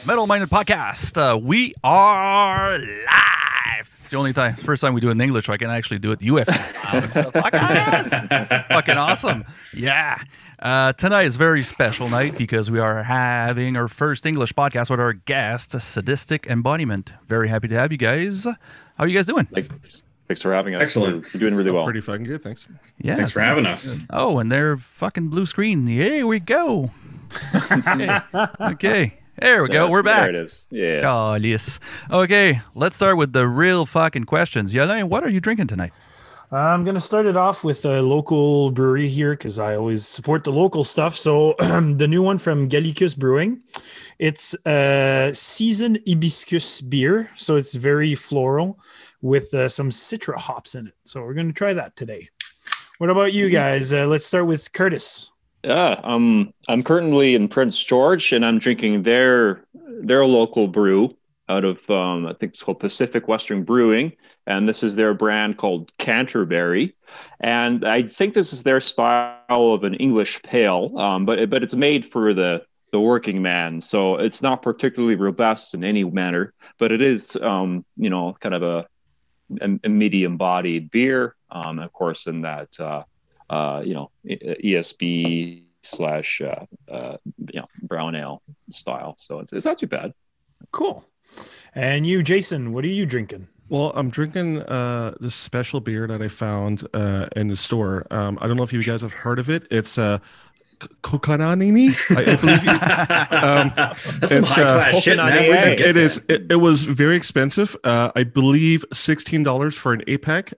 Metal Minded Podcast. We are live. It's the only time, first time we do it in English, so I can actually do it UFC style. Podcast. Fucking awesome. Yeah. Tonight is a very special night because we are having our first English podcast with our guest, Sadistic Embodiment. Very happy to have you guys. How are you guys doing? Thanks for having us. Excellent. We're doing really well. Pretty fucking good, thanks. Yeah. Thanks for having us. Oh, and they're fucking blue screen. Here we go. Okay. There we go. We're back. There it is. Yeah. Oh, yes. Okay, let's start with the real fucking questions. Yalain, what are you drinking tonight? I'm going to start it off with a local brewery here because I always support the local stuff. So the new one from Gallicus Brewing, it's a seasoned hibiscus beer. So it's very floral with some citra hops in it. So we're going to try that today. What about you guys? Let's start with Curtis. Yeah. I'm currently in Prince George, and I'm drinking their local brew out of I think it's called Pacific Western Brewing, and this is their brand called Canterbury, and I think this is their style of an English pale, but it's made for the working man, so it's not particularly robust in any manner, but it is kind of a medium-bodied beer, of course, in that ESB / brown ale style. So it's not too bad. Cool. And you, Jason, what are you drinking? Well, I'm drinking this special beer that I found in the store. I don't know if you guys have heard of it. It's Kokananini. I believe That's some high-class shit, man. It is. It was very expensive. I believe $16 for an 8-pack.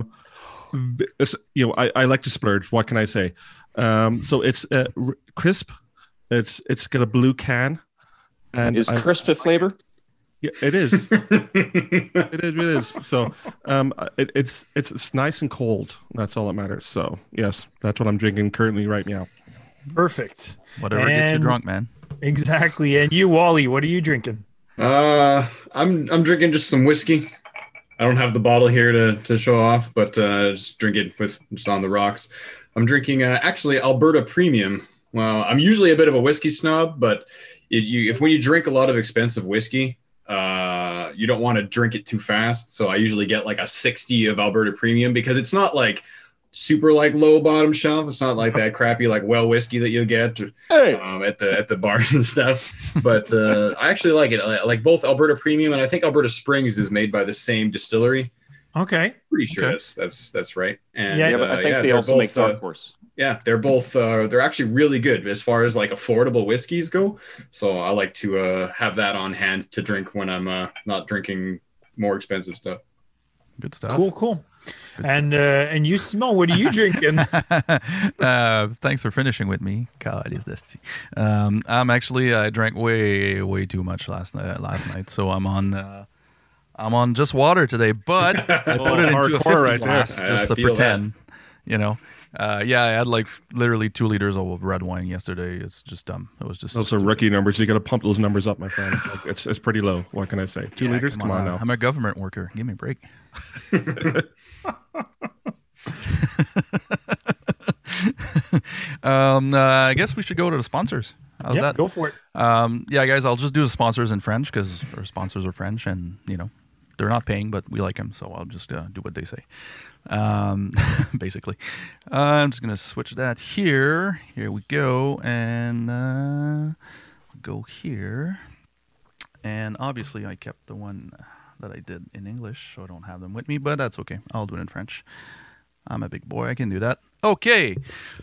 I like to splurge. What can I say? So it's crisp. It's got a blue can. And is crisp a flavor? Yeah, it is. It is. So it's nice and cold. That's all that matters. So yes, that's what I'm drinking currently right now. Perfect. Whatever gets you drunk, man. Exactly. And you, Wally, what are you drinking? I'm drinking just some whiskey. I don't have the bottle here to show off, but just drink it just on the rocks. I'm drinking actually Alberta Premium. Well, I'm usually a bit of a whiskey snob, but when you drink a lot of expensive whiskey, you don't want to drink it too fast. So I usually get like a 60 of Alberta Premium because it's not like super like low bottom shelf. It's not like that crappy like well whiskey that you'll get at the bars and stuff. But I actually like it. I like both Alberta Premium and I think Alberta Springs is made by the same distillery. Okay. Pretty sure Okay. that's right. And But I think they also make Dark Horse. Yeah, they're both they're actually really good as far as like affordable whiskeys go. So I like to have that on hand to drink when I'm not drinking more expensive stuff. Good stuff. Cool. And you, Simon, what are you drinking? Thanks for finishing with me. I'm actually I drank way too much last night, so I'm on just water today, but I put it into a 50 right glass there. just I to feel pretend, I had like literally 2 liters of red wine yesterday. It's just dumb. It was just Those are rookie numbers. You got to pump those numbers up, my friend. Like, it's pretty low. What can I say? 2 liters? Come on now. I'm a government worker. Give me a break. I guess we should go to the sponsors. How's that? Go for it. Guys, I'll just do the sponsors in French because our sponsors are French and, they're not paying, but we like them. So I'll just do what they say. Basically. I'm just going to switch that here. Here we go. And go here. And obviously I kept the one that I did in English, so I don't have them with me, but that's okay. I'll do it in French. I'm a big boy. I can do that. Okay.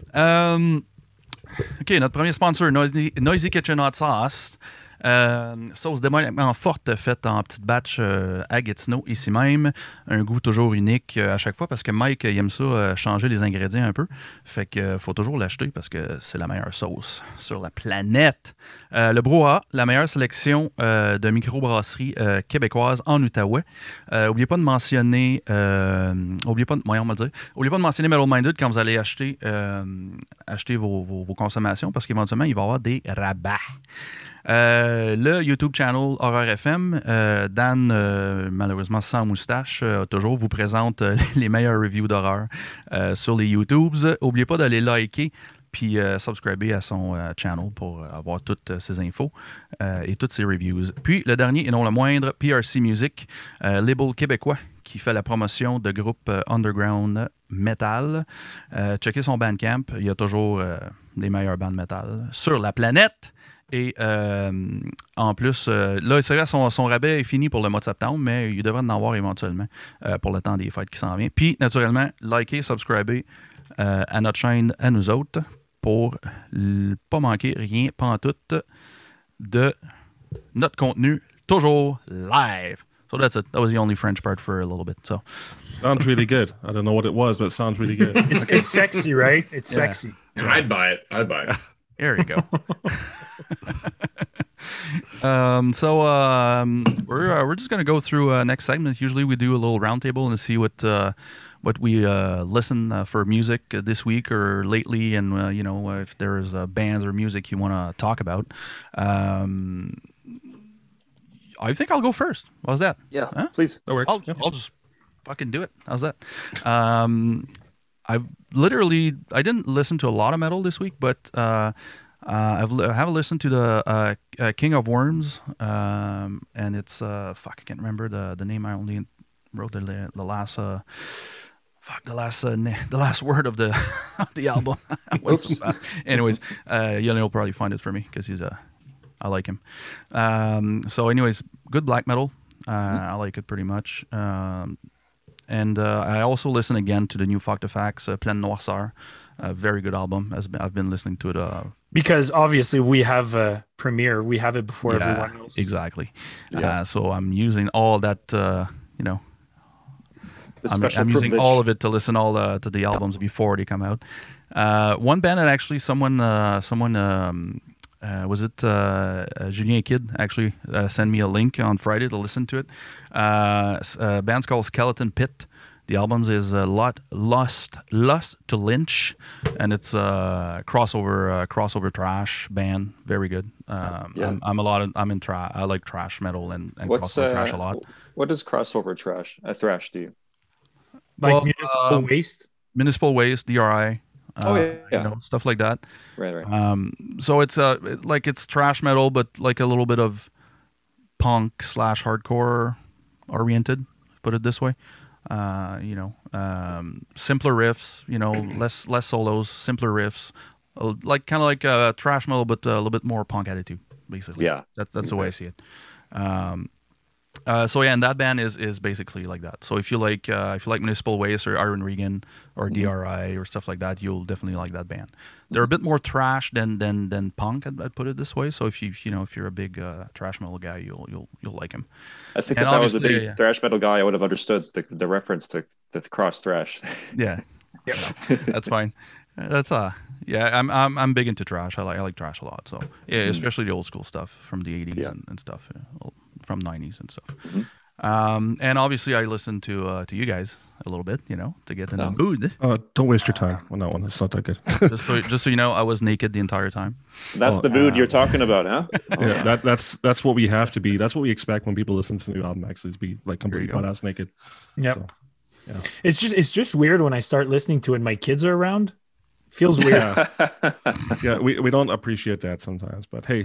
Notre premier sponsor, Noisy Kitchen Hot Sauce. Sauce démoniaquement forte faite en petite batch à Gatineau, ici même. Un goût toujours unique à chaque fois parce que Mike il aime ça changer les ingrédients un peu. Fait que faut toujours l'acheter parce que c'est la meilleure sauce sur la planète. Le Brouhaha, la meilleure sélection de microbrasseries québécoises en Outaouais. Oubliez pas de mentionner oubliez pas de mentionner Metal Minded quand vous allez acheter vos consommations parce qu'éventuellement il va y avoir des rabats. Le YouTube channel Horreur FM, Dan, malheureusement sans moustache, toujours vous présente les meilleures reviews d'horreur sur les YouTubes. N'oubliez pas d'aller liker puis subscriber à son channel pour avoir toutes ses infos et toutes ses reviews. Puis le dernier et non le moindre, PRC Music, label québécois qui fait la promotion de groupes underground metal. Checkez son Bandcamp, il y a toujours les meilleurs bands metal sur la planète. Et en plus, là, c'est vrai, son rabais est fini pour le mois de septembre, mais il devrait en avoir éventuellement pour le temps des fêtes qui s'en vient. Puis, naturellement, likez, subscribez à notre chaîne, à nous autres, pour pas manquer rien, pantoute, de notre contenu, toujours live. So that's it. That was the only French part for a little bit. So Sounds really good. I don't know what it was, but it sounds really good. It's sexy, right? It's sexy. I'd buy it. I'd buy it. there you go. We're just gonna go through next segment. Usually we do a little roundtable and see what we listen for music this week or lately, and if there's bands or music you want to talk about. I think I'll go first. How's that? Yeah, Huh? please. That works. I'll just fucking do it. How's that? I didn't listen to a lot of metal this week, but I have listened to the King of Worms, and it's I can't remember the name. I only wrote the last the last word of the of the album. Anyways, you'll probably find it for me because I like him. So anyways, good black metal. I like it pretty much. And I also listen again to the new Fuck the Facts, Pleine Noirceur. Very good album. I've been listening to it. Because obviously we have a premiere. We have it before everyone else. Exactly. Yeah. So I'm using all that, The I'm special using privilege. all of it to listen to the albums before they come out. One band that actually someone was it Julien Kidd actually sent me a link on Friday to listen to it. Band's called Skeleton Pit. The album is Lust to Lynch, and it's a crossover trash band. Very good. Yeah. I'm in trash. I like trash metal and What's crossover trash a lot. What is crossover trash? Thrash do you? Like Well, municipal waste. Municipal Waste, DRI. Yeah. Stuff like that. Right. So it's it's trash metal, but like a little bit of punk / hardcore oriented. Put it this way. Simpler riffs. Less solos, simpler riffs. Kind of like trash metal, but a little bit more punk attitude. Basically, Yeah. That's the way I see it. And that band is basically like that. So if you like Municipal Waste or Iron Regan or DRI or stuff like that, you'll definitely like that band. They're a bit more trash than punk. I'd put it this way. So if you're a big trash metal guy, you'll like him. I think And if I was a obviously, big thrash metal guy, I would have understood the reference to the cross thrash. Yeah, that's fine. That's I'm big into trash. I like trash a lot. So yeah, especially the old school stuff from the 80s and stuff, from 90s and stuff. And obviously I listen to you guys a little bit, to get in the mood. Don't waste your time on that one. It's not that good. just so you know, I was naked the entire time. That's the mood you're talking about, huh? Yeah, that's what we have to be. That's what we expect when people listen to the new album. Actually, is be like completely butt ass naked. Yep. So, yeah. It's just weird when I start listening to it. My kids are around. Feels weird. Yeah, we don't appreciate that sometimes, but hey.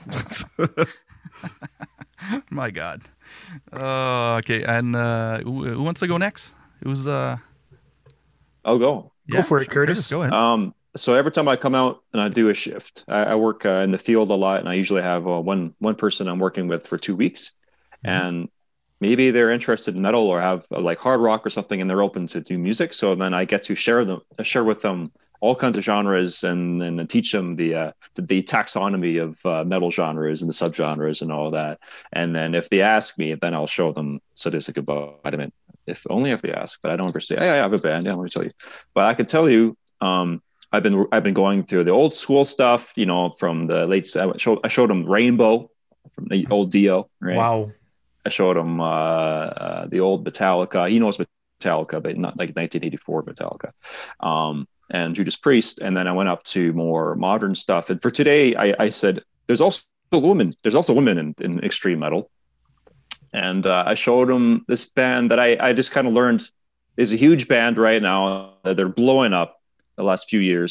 My God. Okay, and who wants to go next? Who's I'll go. Go for it, Curtis. Go ahead. So every time I come out and I do a shift, I work in the field a lot, and I usually have one person I'm working with for 2 weeks, and maybe they're interested in metal or have like hard rock or something, and they're open to do music. So then I get to share with them all kinds of genres and teach them the taxonomy of metal genres and the subgenres and all that. And then if they ask me, then I'll show them Sadistic Embodiment. If they ask, but I don't ever say, hey, I have a band. Yeah, let me tell you. But I can tell you, I've been going through the old school stuff, from the late. I showed them Rainbow from the old Dio. Right? Wow. I showed him the old Metallica. He knows Metallica, but not like 1984 Metallica. And Judas Priest. And then I went up to more modern stuff. And for today, I said, there's also women in extreme metal. And I showed him this band that I just kind of learned is a huge band right now. They're blowing up the last few years.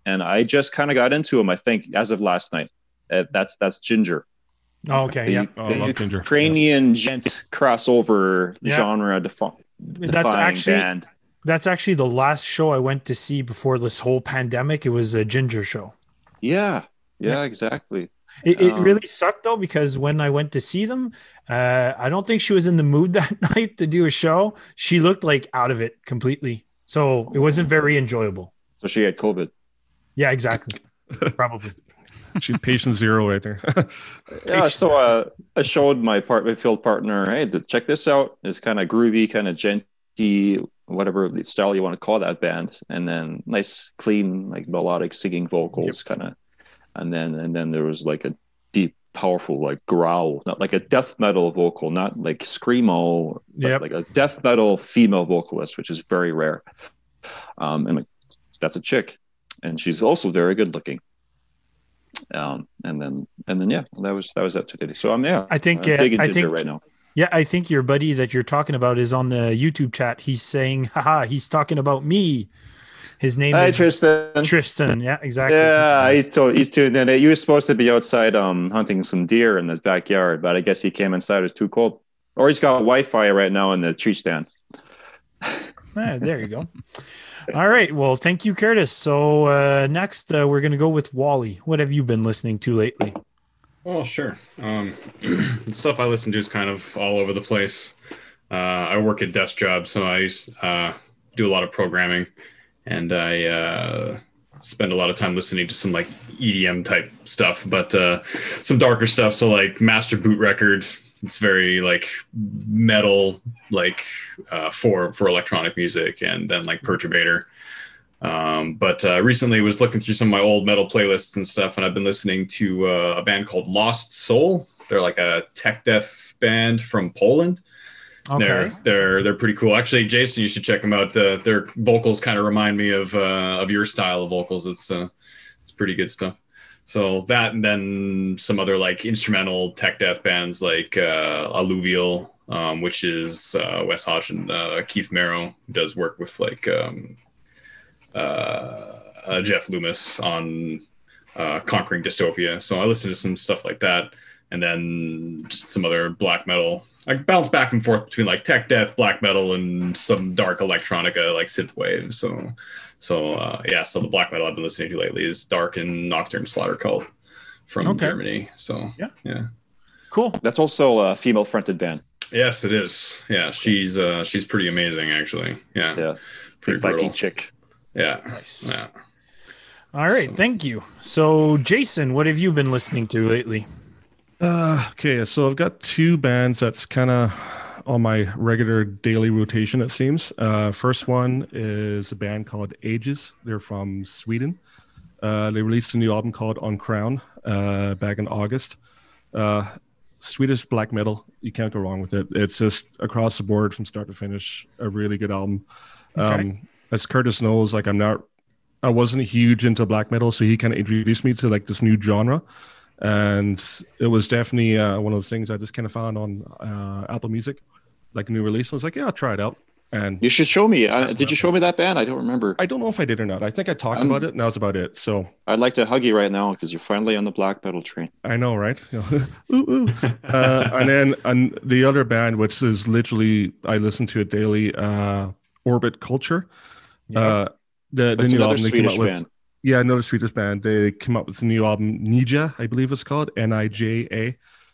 and I just kind of got into them. I think as of last night. That's Ginger. Oh, okay, yeah. Oh, I love Ginger. Ukrainian gent crossover Yeah. genre That's actually band. that's actually the last show I went to see before this whole pandemic. It was a Ginger show. Yeah, Yeah. exactly. It really sucked though, because when I went to see them, I don't think she was in the mood that night to do a show. She looked like out of it completely, so it wasn't very enjoyable. So she had COVID. Yeah, exactly. Probably. She's patient zero right there. Yeah, so I showed my field partner, hey, check this out. It's kind of groovy, kind of genty, whatever the style you want to call that band, and then nice, clean, like melodic singing vocals, kind of, and then there was like a deep, powerful, like growl, not like a death metal vocal, not like screamo, but like a death metal female vocalist, which is very rare. And like, that's a chick, and she's also very good looking. And then yeah, that was that today. So I'm I think digging I Ginger think right now. Yeah, I think your buddy that you're talking about is on the YouTube chat. He's saying, haha, he's talking about me. His name Hi, is Tristan. Tristan. Yeah, exactly. Yeah, he's tuned in. He was supposed to be outside hunting some deer in his backyard, but I guess he came inside. It was too cold. Or he's got Wi-Fi right now in the tree stand. There you go. All right. Well, thank you, Curtis. So next, we're going to go with Wally. What have you been listening to lately? Oh, sure. The stuff I listen to is kind of all over the place. I work a desk job, so I do a lot of programming, and I spend a lot of time listening to some like EDM type stuff, but some darker stuff. So like Master Boot Record. It's very like metal, like for electronic music, and then like Perturbator. But recently was looking through some of my old metal playlists and stuff, and I've been listening to a band called Lost Soul. They're like a tech death band from Poland. Okay. They're pretty cool. Actually, Jason, you should check them out. Their vocals kind of remind me of your style of vocals. It's pretty good stuff. So that, and then some other like instrumental tech death bands like Alluvial, which is Wes Hodge and Keith Merrow does work with like Jeff Loomis on Conquering Dystopia. So I listen to some stuff like that, and then just some other black metal. I bounce back and forth between like tech death, black metal, and some dark electronica like synthwave. So the black metal I've been listening to lately is Dark and Nocturne Slaughter Cult from Germany. So yeah, cool. That's also a female fronted band. Yes, it is. Yeah, she's pretty amazing actually. Yeah, pretty Viking chick. Yeah, nice. Yeah. All right, thank you. So Jason, what have you been listening to lately? Okay, so I've got two bands that's kind of on my regular daily rotation, it seems. First one is a band called Ages. They're from Sweden. They released a new album called On Crown back in August. Swedish black metal, you can't go wrong with it. It's just across the board from start to finish, a really good album. Okay. As Curtis knows, like I wasn't huge into black metal, so he kind of introduced me to like this new genre. And it was definitely one of those things I just kind of found on Apple Music, like a new release. I was like, yeah, I'll try it out. And you should show me. Did you show me that band? I don't remember. I don't know if I did or not. I think I talked about it, and that was about it. So I'd like to hug you right now because you're finally on the black metal train. I know, right? Ooh, ooh. And then the other band, which is literally I listen to it daily, Orbit Culture. Yeah. The new album they came Swedish out with. band. Yeah, another Swedish band. They came up with a new album, Nija, I believe it's called, Nija.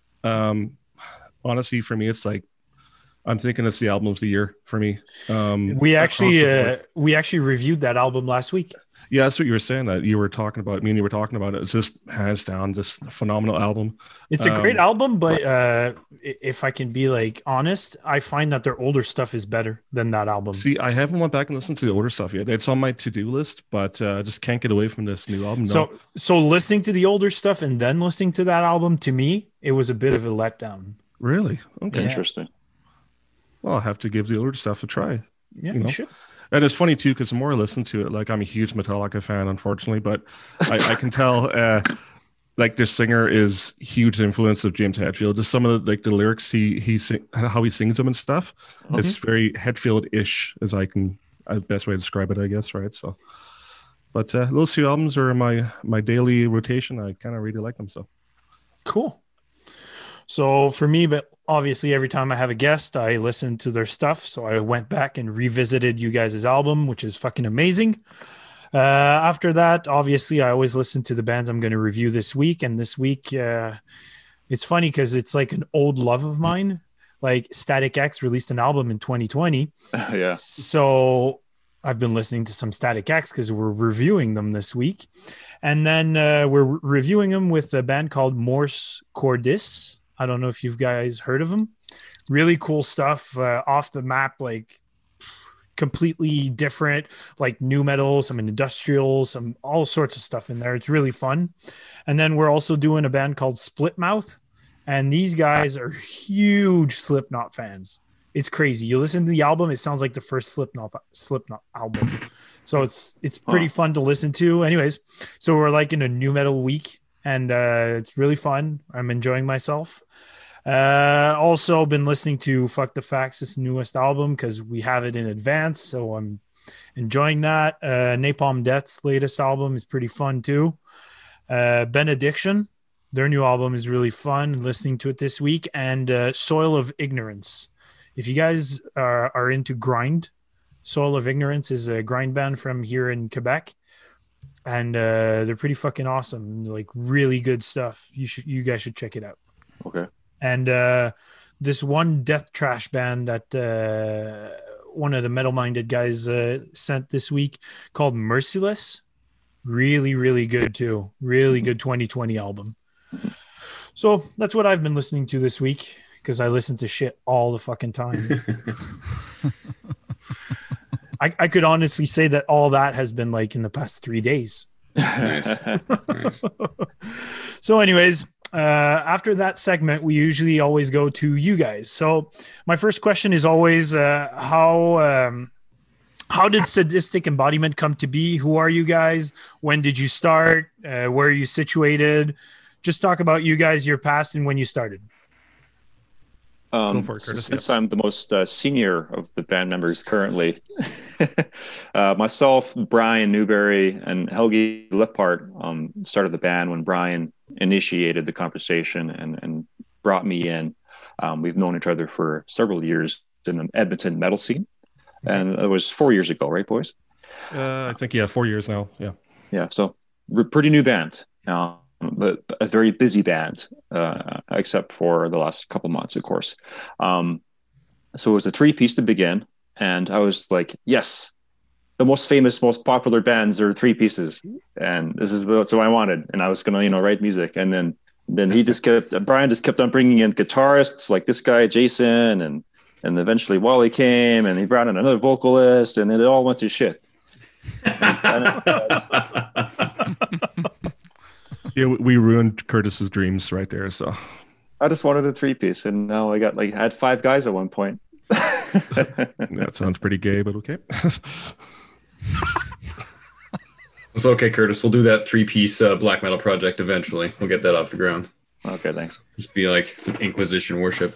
Honestly, for me, it's like I'm thinking it's the album of the year for me. We actually reviewed that album last week. Yeah, that's what you were saying. That you were talking about. Me and you were talking about it. It's just hands down, just a phenomenal album. It's a great album, but if I can be like honest, I find that their older stuff is better than that album. See, I haven't went back and listened to the older stuff yet. It's on my to-do list, but I just can't get away from this new album. No. So listening to the older stuff and then listening to that album, to me, it was a bit of a letdown. Really? Okay. Interesting. Well, I'll have to give the older stuff a try. Yeah, you should. And it's funny too, because the more I listen to it, like I'm a huge Metallica fan, unfortunately, but I can tell like the singer is huge influence of James Hetfield. Just some of the lyrics how he sings them and stuff. It's very Hetfield-ish, as best way to describe it, I guess, right? So But those two albums are my daily rotation. I kind of really like them. So Cool. So for me, but obviously every time I have a guest, I listen to their stuff. So I went back and revisited you guys' album, which is fucking amazing. After that, obviously, I always listen to the bands I'm going to review this week. And this week, it's funny because it's like an old love of mine. Like Static X released an album in 2020. Yeah. So I've been listening to some Static X because we're reviewing them this week. And then we're reviewing them with a band called Morse Cordis. I don't know if you guys heard of them. Really cool stuff, off the map, like completely different, like new metal, some industrial, some all sorts of stuff in there. It's really fun. And then we're also doing a band called Splitmouth, and these guys are huge Slipknot fans. It's crazy. You listen to the album, it sounds like the first Slipknot album. So it's pretty fun to listen to. Anyways, so we're like in a new metal week, and it's really fun. I'm enjoying myself. Also been listening to Fuck the Facts' newest album because we have it in advance, so I'm enjoying that. Napalm Death's latest album is pretty fun too. Benediction, their new album is really fun. Listening to it this week. And Soil of Ignorance. If you guys are into grind, Soil of Ignorance is a grind band from here in Quebec, and they're pretty fucking awesome. Like really good stuff. You guys should check it out. Okay. And this one death trash band that one of the metal-minded guys sent this week called Merciless. Really, really good too. Really good 2020 album. So that's what I've been listening to this week because I listen to shit all the fucking time. I could honestly say that all that has been like in the past 3 days. Nice. Nice. So anyways, after that segment, we usually always go to you guys. So my first question is always, how did Sadistic Embodiment come to be? Who are you guys? When did you start? Where are you situated? Just talk about you guys, your past, and when you started. Go for it, Curtis. Since I'm the most senior of the band members currently, myself, Brian Newberry, and Helgi Lippart started the band when Brian initiated the conversation and brought me in. We've known each other for several years in the Edmonton metal scene, and it was 4 years ago, right, boys? I think 4 years now. Yeah. So we're a pretty new band. But a very busy band, except for the last couple months, of course. So it was a 3-piece to begin, and I was like, yes, the most famous, most popular bands are 3 pieces, and this is what I wanted. And I was going to, write music, and then Brian just kept on bringing in guitarists like this guy Jason, and eventually Wally came, and he brought in another vocalist, and it all went to shit. Yeah, we ruined Curtis's dreams right there. So I just wanted a 3-piece, and now I had 5 guys at one point. that sounds pretty gay, but okay. It's okay, Curtis. We'll do that 3-piece black metal project eventually. We'll get that off the ground. Okay, thanks. Just be like some Inquisition worship.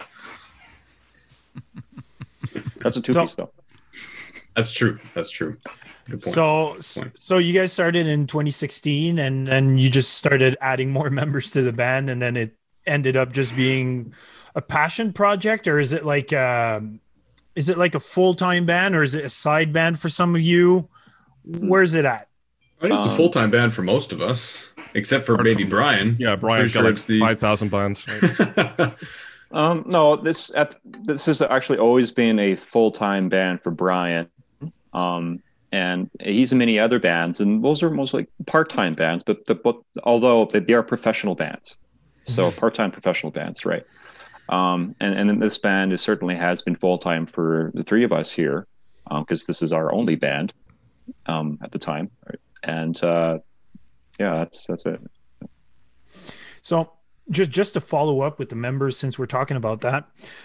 That's a 2-piece, though. That's true. Good point. So you guys started in 2016, and then you just started adding more members to the band, and then it ended up just being a passion project, or is it like a full-time band, or is it a side band for some of you? Where's it at? I think it's a full-time band for most of us, except for maybe Brian. Yeah, Brian's got like 5,000 bands. Right? No, this has actually always been a full-time band for Brian. And he's in many other bands, and those are mostly part-time bands, but although they are professional bands, so part-time professional bands, right? And this band certainly has been full-time for the 3 of us here, because this is our only band at the time, right? And that's it. So just to follow up with the members, since we're talking about that,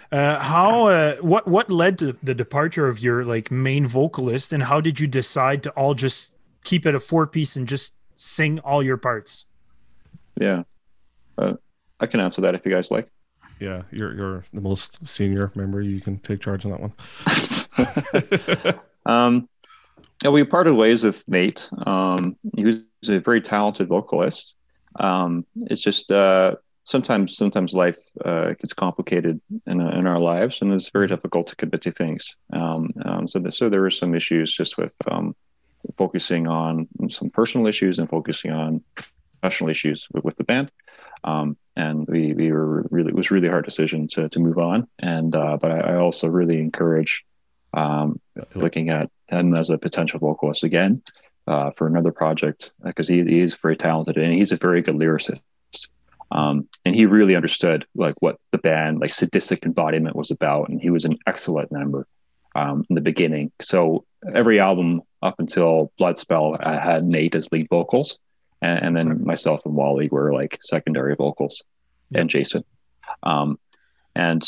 what led to the departure of your main vocalist, and how did you decide to all just keep it a 4-piece and just sing all your parts? Yeah, I can answer that if you guys like. Yeah, you're the most senior member. You can take charge on that one. Yeah, we parted ways with Nate. He was a very talented vocalist. It's just sometimes life gets complicated in our lives, and it's very difficult to commit to things. So there were some issues just with focusing on some personal issues and focusing on professional issues with the band. And we were really, it was a really hard decision to move on. And but I also really encourage looking at him as a potential vocalist again for another project, because he is very talented and he's a very good lyricist. And he really understood like what the band, like Sadistic Embodiment, was about, and he was an excellent member in the beginning. So every album up until Bloodspell, I had Nate as lead vocals, and then myself and Wally were like secondary vocals, and Jason. And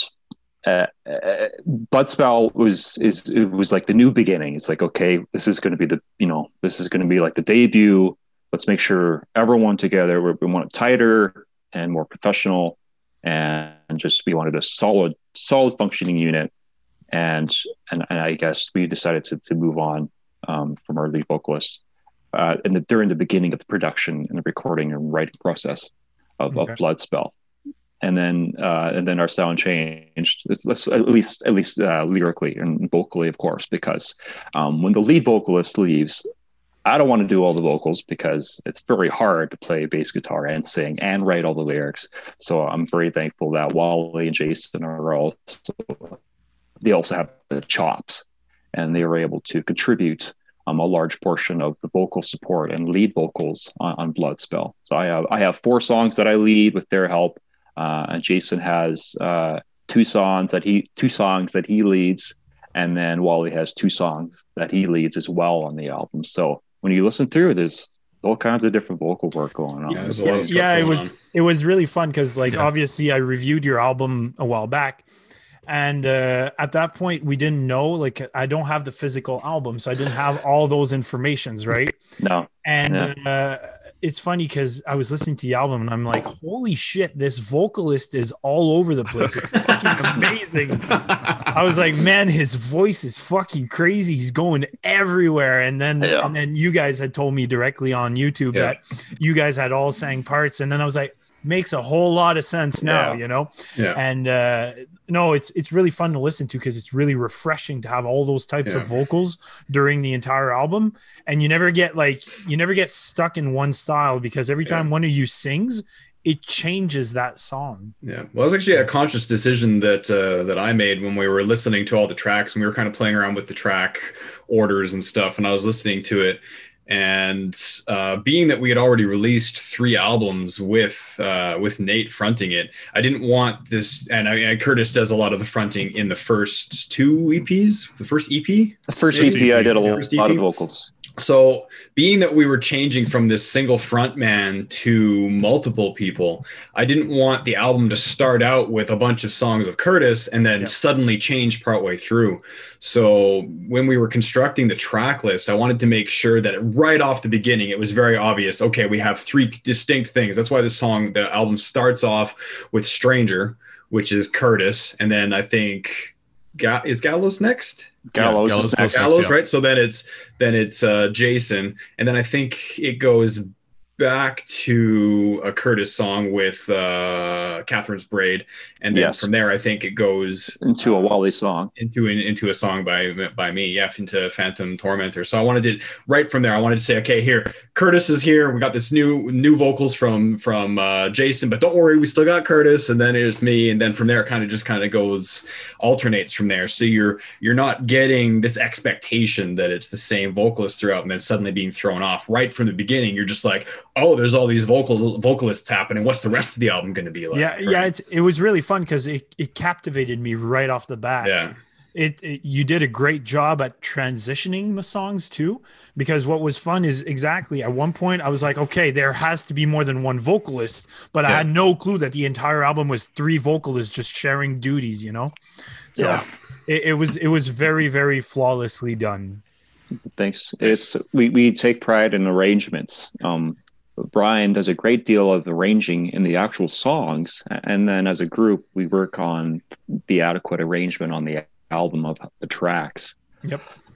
Bloodspell was like the new beginning. It's like, okay, this is going to be this is going to be like the debut. Let's make sure everyone together, we want it tighter and more professional, and just we wanted a solid functioning unit. And I guess we decided to move on from our lead vocalist during the beginning of the production and the recording and writing process of Bloodspell. And then our sound changed, at least lyrically and vocally, of course, because when the lead vocalist leaves, I don't want to do all the vocals because it's very hard to play bass guitar and sing and write all the lyrics. So I'm very thankful that Wally and Jason they also have the chops, and they were able to contribute a large portion of the vocal support and lead vocals on Bloodspell. So I have 4 songs that I lead with their help. And Jason has 2 songs that he leads, and then Wally has 2 songs that he leads as well on the album. So when you listen through, there's all kinds of different vocal work going on. Yeah, there's a lot of stuff it was really fun because obviously I reviewed your album a while back, and at that point we didn't know, like, I don't have the physical album, so I didn't have all those informations, right? No. And it's funny because I was listening to the album and I'm like, holy shit, this vocalist is all over the place. It's fucking amazing. I was like, man, his voice is fucking crazy. He's going everywhere. And then you guys had told me directly on YouTube that you guys had all sang parts. And then I was like, makes a whole lot of sense now, you know? Yeah. And no, it's really fun to listen to because it's really refreshing to have all those types of vocals during the entire album. And you never get stuck in one style, because every time one of you sings, it changes that song. Yeah. Well, it was actually a conscious decision that I made when we were listening to all the tracks, and we were kind of playing around with the track orders and stuff. And I was listening to it, and being that we had already released 3 albums with Nate fronting it, I didn't want this. And Curtis does a lot of the fronting in the first 2 EPs. The first EP, I did a lot of vocals. So being that we were changing from this single front man to multiple people, I didn't want the album to start out with a bunch of songs of Curtis and then suddenly change partway through. So when we were constructing the track list, I wanted to make sure that right off the beginning, it was very obvious. Okay, we have 3 distinct things. That's why the album starts off with Stranger, which is Curtis. And then I think is Gallows next? Gallows, right? So then it's Jason, and then I think it goes back to a Curtis song with Catherine's Braid, and then from there I think it goes into a Wally song, into a song by me, into Phantom Tormentor. So I wanted to right from there. I wanted to say, okay, here Curtis is here. We got this new vocals from Jason, but don't worry, we still got Curtis, and then it's me, and then from there it kind of goes alternates from there. So you're not getting this expectation that it's the same vocalist throughout, and then suddenly being thrown off right from the beginning. You're just like, oh, there's all these vocalists happening. What's the rest of the album going to be like? It was really fun because it captivated me right off the bat. You did a great job at transitioning the songs too, because what was fun is exactly at one point I was like, okay, there has to be more than one vocalist, but I had no clue that the entire album was 3 vocalists just sharing duties, you know? So it was very, very flawlessly done. Thanks. We take pride in arrangements. Brian does a great deal of arranging in the actual songs, and then as a group we work on the adequate arrangement on the album of the tracks.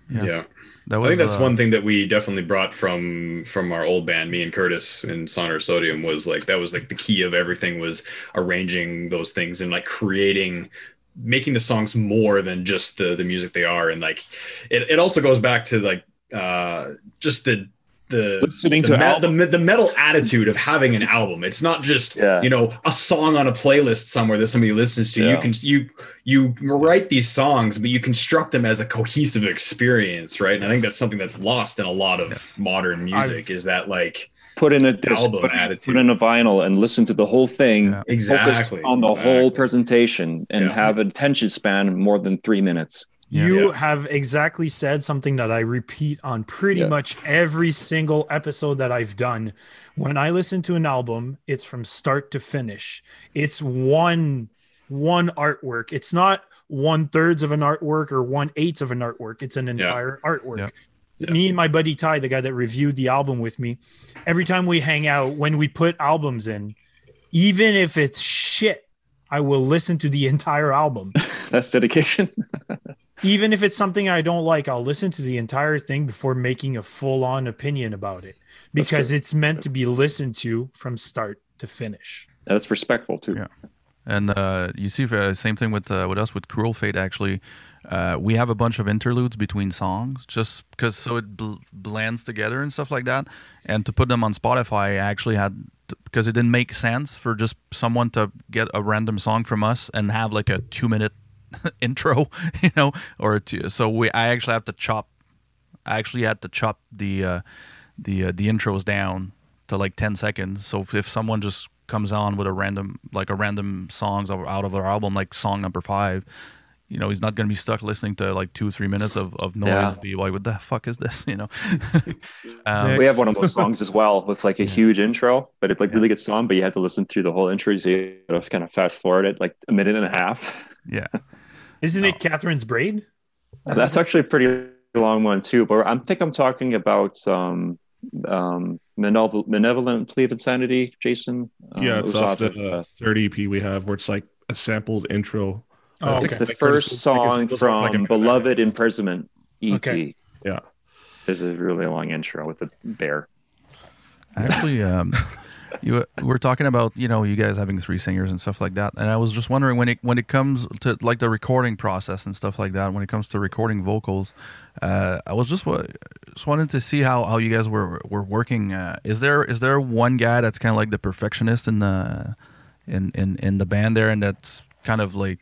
Yeah. That I think was, that's one thing that we definitely brought from our old band, me and Curtis in Sonor Sodium, was like that was like the key of everything, was arranging those things and like making the songs more than just the music they are. And like it also goes back to like just the Listening to the metal attitude of having an album. It's not just Yeah. a song on a playlist somewhere that somebody listens to. Yeah. You write these songs, but you construct them as a cohesive experience, right? And I think that's something that's lost in a lot of modern music, is that like put in a disc, album put attitude. in a vinyl and listen to the whole thing. Yeah. Exactly. Focus on the whole presentation and Yeah. have an attention span more than 3 minutes. You have exactly said something that I repeat on pretty much every single episode that I've done. When I listen to an album, it's from start to finish. It's one artwork. It's not 1/3 of an artwork or 1/8 of an artwork. It's an entire artwork. Yeah. Me and my buddy Ty, the guy that reviewed the album with me, every time we hang out, when we put albums in, even if it's shit, I will listen to the entire album. That's dedication. Even if it's something I don't like, I'll listen to the entire thing before making a full-on opinion about it, because it's meant to be listened to from start to finish. That's respectful too. Yeah. And you see, same thing with us with Cruel Fate. Actually, we have a bunch of interludes between songs, just because so it blends together and stuff like that. And to put them on Spotify, I actually had, because it didn't make sense for just someone to get a random song from us and have like a 2-minute intro, or two. So I actually had to chop the intros down to like 10 seconds. So if someone just comes on with a random songs out of our album, like song number 5, he's not going to be stuck listening to like 2-3 minutes of noise. Yeah. And be like, what the fuck is this? We have one of those songs as well with like a huge intro, but it's like really good song, but you have to listen through the whole intro. So you have to kind of fast forward it like a minute and a half. Yeah. Isn't it Catherine's Braid? That's actually a pretty long one too, but I think I'm talking about Malevolent Plea of Insanity, Jason. It's off the third EP we have, where it's like a sampled intro. Oh, It's okay. the first song from Beloved Imprisonment EP. Okay. Yeah. This is a really long intro with the bear. Actually, we're talking about you guys having 3 singers and stuff like that, and I was just wondering when it comes to like the recording process and stuff like that, when it comes to recording vocals, I was just wanted to see how you guys were working. Is there one guy that's kind of like the perfectionist in the band there, and that's kind of like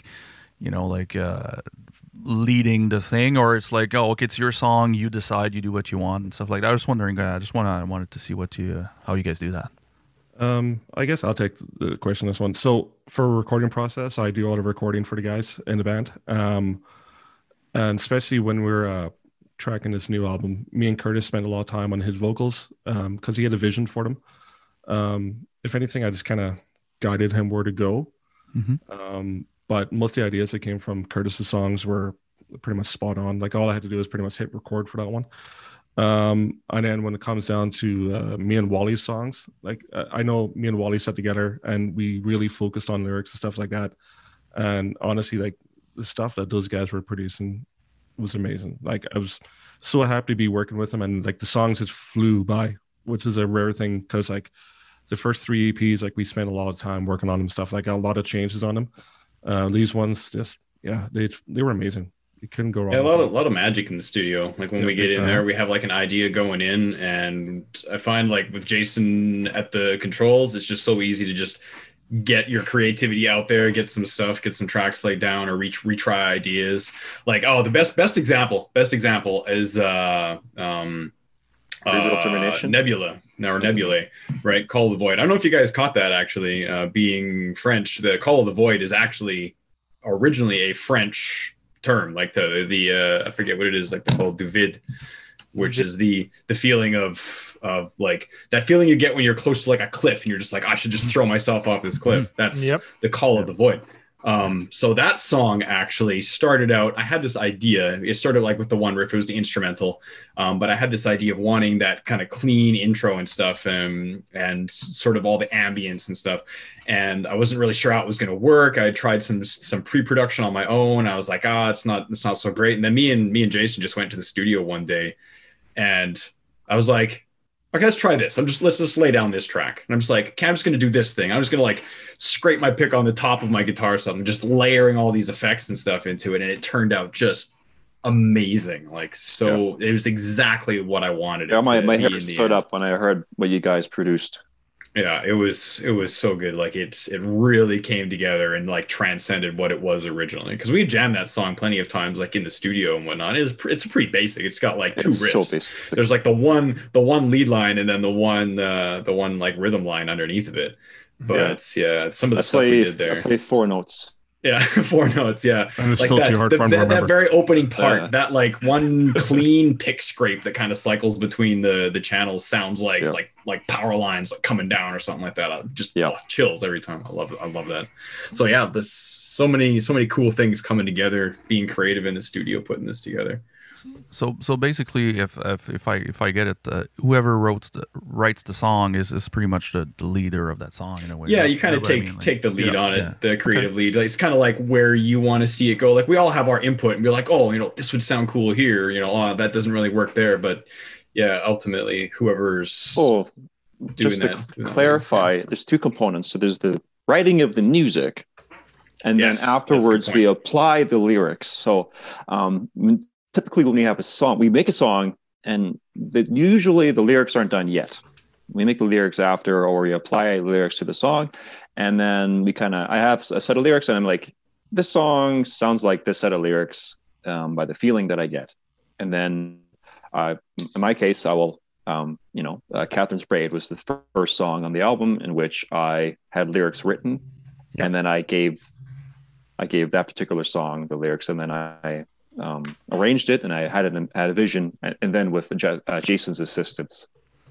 leading the thing, or it's like, oh, okay, it's your song, you decide, you do what you want and stuff like that? I was wondering. I wanted to see how you guys do that. I guess I'll take the question on this one. So for a recording process, I do a lot of recording for the guys in the band. And especially when we're tracking this new album, me and Curtis spent a lot of time on his vocals because he had a vision for them. If anything, I just kind of guided him where to go. Mm-hmm. But most of the ideas that came from Curtis's songs were pretty much spot on. Like all I had to do was pretty much hit record for that one. And then when it comes down to me and Wally's songs, like I know me and Wally sat together and we really focused on lyrics and stuff like that. And honestly, like the stuff that those guys were producing was amazing. Like I was so happy to be working with them, and like the songs just flew by, which is a rare thing because like the first 3 EPs, like we spent a lot of time working on them, stuff like a lot of changes on them. These ones just they were amazing. You couldn't go wrong. Yeah, a lot of magic in the studio. Like when we get in there, we have like an idea going in, and I find like with Jason at the controls, it's just so easy to just get your creativity out there, get some stuff, get some tracks laid down, or retry ideas. Like the best example is Nebulae, right? Call of the Void. I don't know if you guys caught that actually. Being French, the Call of the Void is actually originally a French term, like the I forget what it is, like the called du vide, which is the feeling of like that feeling you get when you're close to like a cliff and you're just like, I should just throw myself off this cliff. That's the Call of the Void. So that song actually started out, I had this idea. It started like with the one riff, it was the instrumental. But I had this idea of wanting that kind of clean intro and stuff, and sort of all the ambience and stuff. And I wasn't really sure how it was going to work. I had tried some pre-production on my own. I was like, it's not so great. And then me and Jason just went to the studio one day, and I was like, okay, let's try this. Let's just lay down this track. And I'm just like, okay, I'm just going to do this thing. I'm just going to like scrape my pick on the top of my guitar or something, just layering all these effects and stuff into it. And it turned out just amazing. Like, so it was exactly what I wanted. Yeah, my hair stood up when I heard what you guys produced. Yeah, it was so good. Like it really came together and like transcended what it was originally. Because we jammed that song plenty of times, like in the studio and whatnot. It's pretty basic. It's got like two riffs. So there's like the one lead line and then the one like rhythm line underneath of it. But some of the stuff we did there. I played 4 notes. Yeah, 4 notes. Yeah, and it's like still too hard for me to remember. That very opening part, that like one clean pick scrape that kind of cycles between the channels sounds like power lines like coming down or something like that. Chills every time. I love that. So yeah, there's so many cool things coming together. Being creative in the studio, putting this together. So basically, if I get it, whoever writes the song is pretty much the leader of that song in a way. Yeah, you kind of take the lead on it, the creative lead. Like, it's kind of like where you want to see it go. Like we all have our input and be like, this would sound cool here. That doesn't really work there. But yeah, ultimately, whoever's doing just to clarify, there's 2 components. So there's the writing of the music, and then afterwards we apply the lyrics. So typically when we have a song, we make a song, and usually the lyrics aren't done yet. We make the lyrics after, or we apply lyrics to the song, and then I have a set of lyrics, and I'm like, this song sounds like this set of lyrics by the feeling that I get. And then in my case, I will, Catherine's Braid was the first song on the album in which I had lyrics written, and then I gave that particular song the lyrics, and then I arranged it, and I had a vision, and then with Jason's assistance,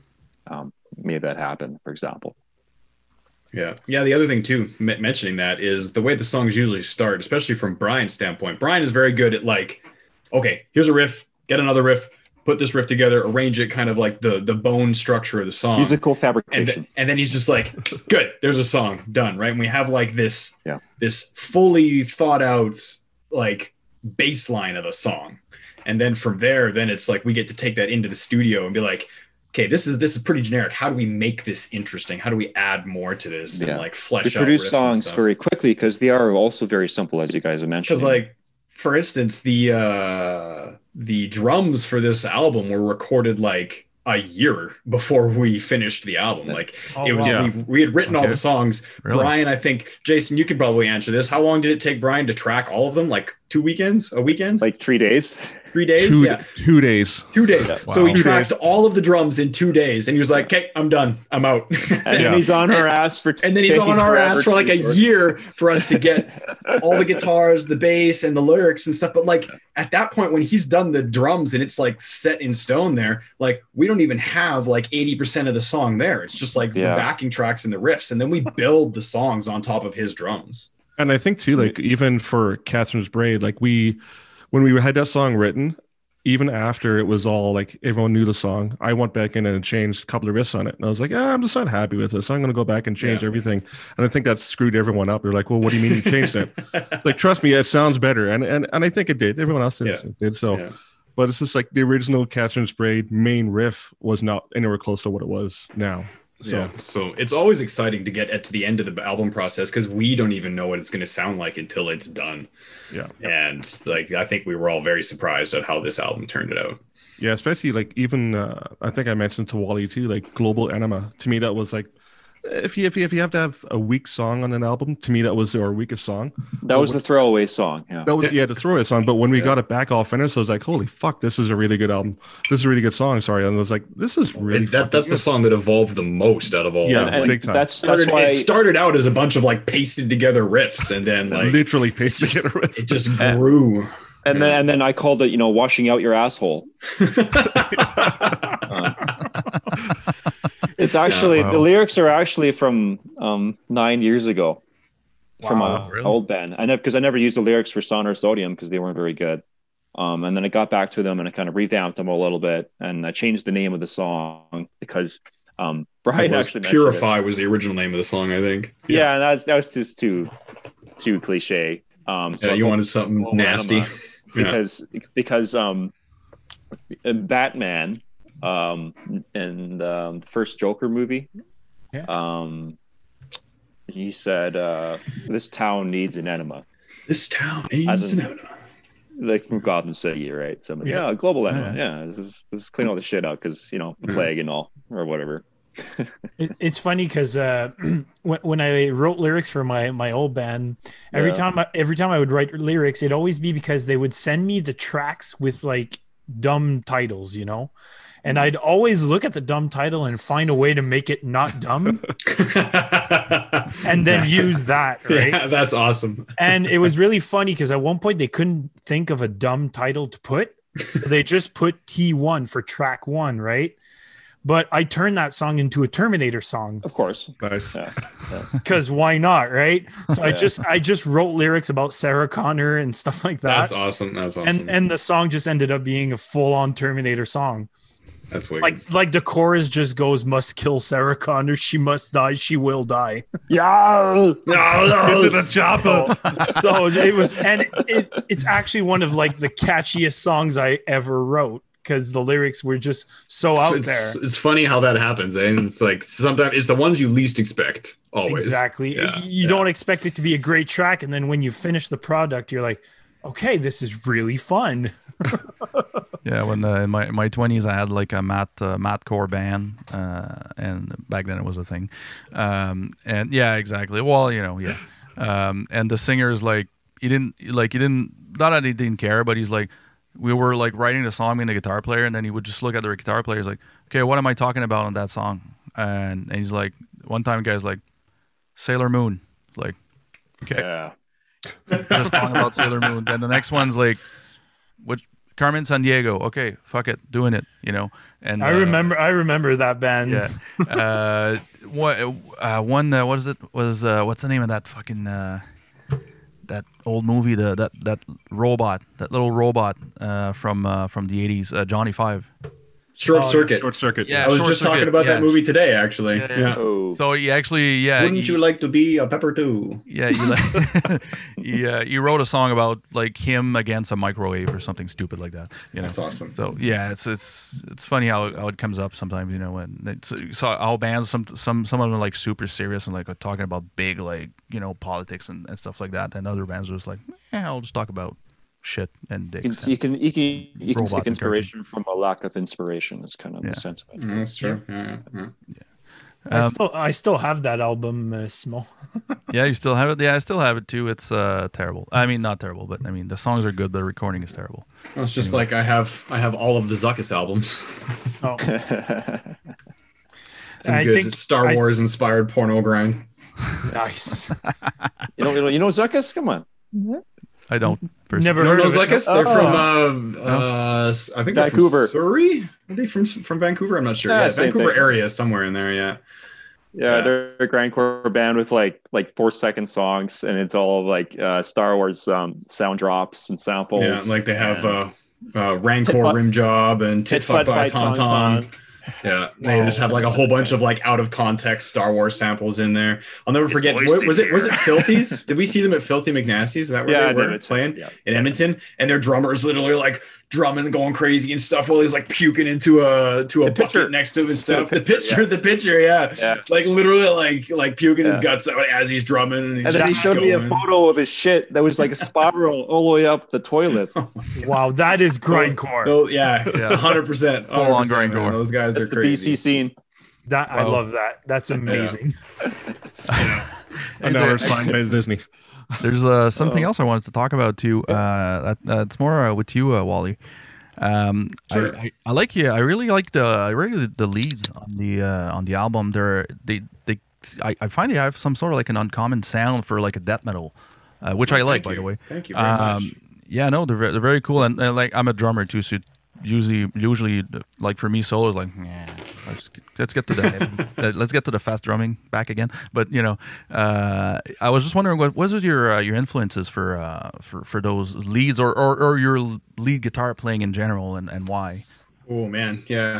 made that happen, for example. Yeah. The other thing too, mentioning that, is the way the songs usually start, especially from Brian's standpoint. Brian is very good at like, okay, here's a riff, get another riff, put this riff together, arrange it, kind of like the bone structure of the song, musical fabrication, and then he's just like, good, there's a song done, right? And we have like this fully thought out like bass line of a song, and then from there, then it's like we get to take that into the studio and be like, okay, this is pretty generic. How do we make this interesting? How do we add more to this and like flesh out riffs? We produce songs very quickly because they are also very simple, as you guys have mentioned. Because like, for instance, the drums for this album were recorded like a year before we finished the album. Like we had written all the songs. Really? Brian, I think, Jason, you could probably answer this. How long did it take Brian to track all of them? Like 2 weekends, a weekend? Like 3 days. 3 days? 2 days. 2 days. Yeah. Wow. So he tracked all of the drums in 2 days, and he was like, okay, I'm done. I'm out. And he's on our ass for like a year for us to get all the guitars, the bass, and the lyrics and stuff. But like at that point, when he's done the drums and it's like set in stone there, like we don't even have like 80% of the song there. It's just like the backing tracks and the riffs. And then we build the songs on top of his drums. And I think too, like even for Catherine's Braid, like when we had that song written, even after it was all like everyone knew the song, I went back in and changed a couple of riffs on it. And I was like, I'm just not happy with this. So I'm going to go back and change everything. And I think that screwed everyone up. They're like, well, what do you mean you changed it? Like, trust me, it sounds better. And I think it did. Everyone else did. So, but it's just like the original Catherine's Braid main riff was not anywhere close to what it was now. So it's always exciting to get to the end of the album process because we don't even know what it's going to sound like until it's done. Yeah. And like, I think we were all very surprised at how this album turned out. Yeah, especially like even I think I mentioned to Wally too, like Global Enema. To me, that was like if you have to have a weak song on an album, to me that was our weakest song. That was the throwaway song. Yeah, that was the throwaway song. But when we got it back all finished, I was like, holy fuck, this is a really good album. This is a really good song. Sorry, and I was like, this is really that's the song that evolved the most out of all. Yeah, and big time. That's why it started out as a bunch of like pasted together riffs, and then like literally pasted together riffs. It just grew. And then I called it, washing out your asshole. It's actually the lyrics are actually from 9 years ago. from Wow, my really? old band. I know because I never used the lyrics for Sonor Sodium because they weren't very good. And then I got back to them and I kind of revamped them a little bit, and I changed the name of the song because Brian actually mentioned Purify was the original name of the song, I think. it. Yeah, and that was just too cliche. So Yeah, you wanted something Global nasty. Enema because Batman in the first Joker movie, he said this town needs an enema, This town As is in- an enema. like from Gotham City, right? So I'm like, Yeah. global enema. Yeah, this is clean all the shit out because the plague and all or whatever. It's funny because when I wrote lyrics for my old band, every Yeah. time I would write lyrics, it'd always be because they would send me the tracks with like dumb titles, and I'd always look at the dumb title and find a way to make it not dumb, and then use that, right? Yeah, that's awesome. And it was really funny because at one point they couldn't think of a dumb title to put, so they just put T1 for track 1, right? But I turned that song into a Terminator song Of course. Nice. Yeah. because why not, right? So Yeah. I just wrote lyrics about Sarah Connor and stuff like that. That's awesome. That's awesome. And the song just ended up being a full-on Terminator song. that's wicked. Like the chorus just goes, "Must kill Sarah Connor. She must die. She will die." Yeah. Is it a chopper? So it was, and it's actually one of like the catchiest songs I ever wrote because the lyrics were just so out there. It's funny how that happens, and it's like sometimes it's the ones you least expect. Always. Exactly. Yeah, You don't expect it to be a great track, and then when you finish the product, you're like, okay, this is really fun. Yeah, when in my 20s I had like a mathcore band, and back then it was a thing, and yeah, exactly. Well, and the singer is like he didn't not that he didn't care, but he's like we were like writing the song and the guitar player, and then he would just look at the guitar player. He's like, okay, what am I talking about on that song? And he's like, one time, guy's like, Sailor Moon. Like, okay, Yeah. just talking about Sailor Moon. Then the next one's like, which Carmen San Diego. Okay, fuck it, doing it. And I remember that band. yeah. What is it? Was what's the name of that fucking that old movie? That robot, that little robot from the 80s, Johnny Five. Short Circuit. Short circuit. Yeah. I was Short just talking Circuit, about that yeah. movie today, actually. Yeah. Yeah. Oh. So he actually, Wouldn't you like to be a pepper too? Yeah, he wrote a song about like him against a microwave or something stupid like that. That's awesome. So yeah, it's funny how it comes up sometimes. When so how bands some of them are like super serious and like are talking about big like politics and stuff like that, and other bands are just like, I'll just talk about shit and dicks. You can Robots take and inspiration from a lack of inspiration. Is kind of the sentiment. That's true. Yeah. I still have that album, Small. Yeah, you still have it. Yeah, I still have it too. It's terrible. I mean, not terrible, but I mean the songs are good, but the recording is terrible. Well, it's just like I have all of the Zuckus albums. Oh, Some I good think Star Wars inspired porno grind. nice. You know Zuckus? Come on. I don't personally. Never No, heard no, of it. Zuckus. They're from I think they're Vancouver. from Surrey. Are they from Vancouver? I'm not sure. Yeah, Yeah, same Vancouver thing. area somewhere in there. Yeah. Yeah, they're a grindcore band with like 4-second songs, and it's all like Star Wars sound drops and samples. Yeah, like they have Rancor Tit Fuck- Rim Job and Tit Fuck by Tauntaun. Yeah, they just have like a whole bunch of like out of context Star Wars samples in there. I'll never forget. Was it Filthy's? Did we see them at Filthy McNasty's? Is that where Yeah, they were Edmonton, playing yeah. in Edmonton? And their drummer is literally like drumming, going crazy and stuff while he's like puking into a bucket pitcher. next to him and stuff. To The pitcher, yeah. Like literally like puking his Yeah. guts out as he's drumming. And, he's And then he just showed me a going. photo of his shit that was like a spiral all the way up the toilet. Wow, that is grindcore. Oh yeah, Yeah. 100%. Full on 100%, man. grindcore. Those guys are That's the crazy. BC scene. That I Wow. love that. That's amazing. And now we're signed by Disney. There's something else I wanted to talk about too. That's more with you, Wally. Sure. I like you. I really like the leads on the album. I find they have some sort of like an uncommon sound for like a death metal, which I like, by the way. Thank you very much. Yeah, no, they're very cool, and like I'm a drummer too, so usually like for me solo is like let's get to the let's get to the fast drumming back again. But I was just wondering what was your influences for those leads or your lead guitar playing in general and why? Oh man, yeah.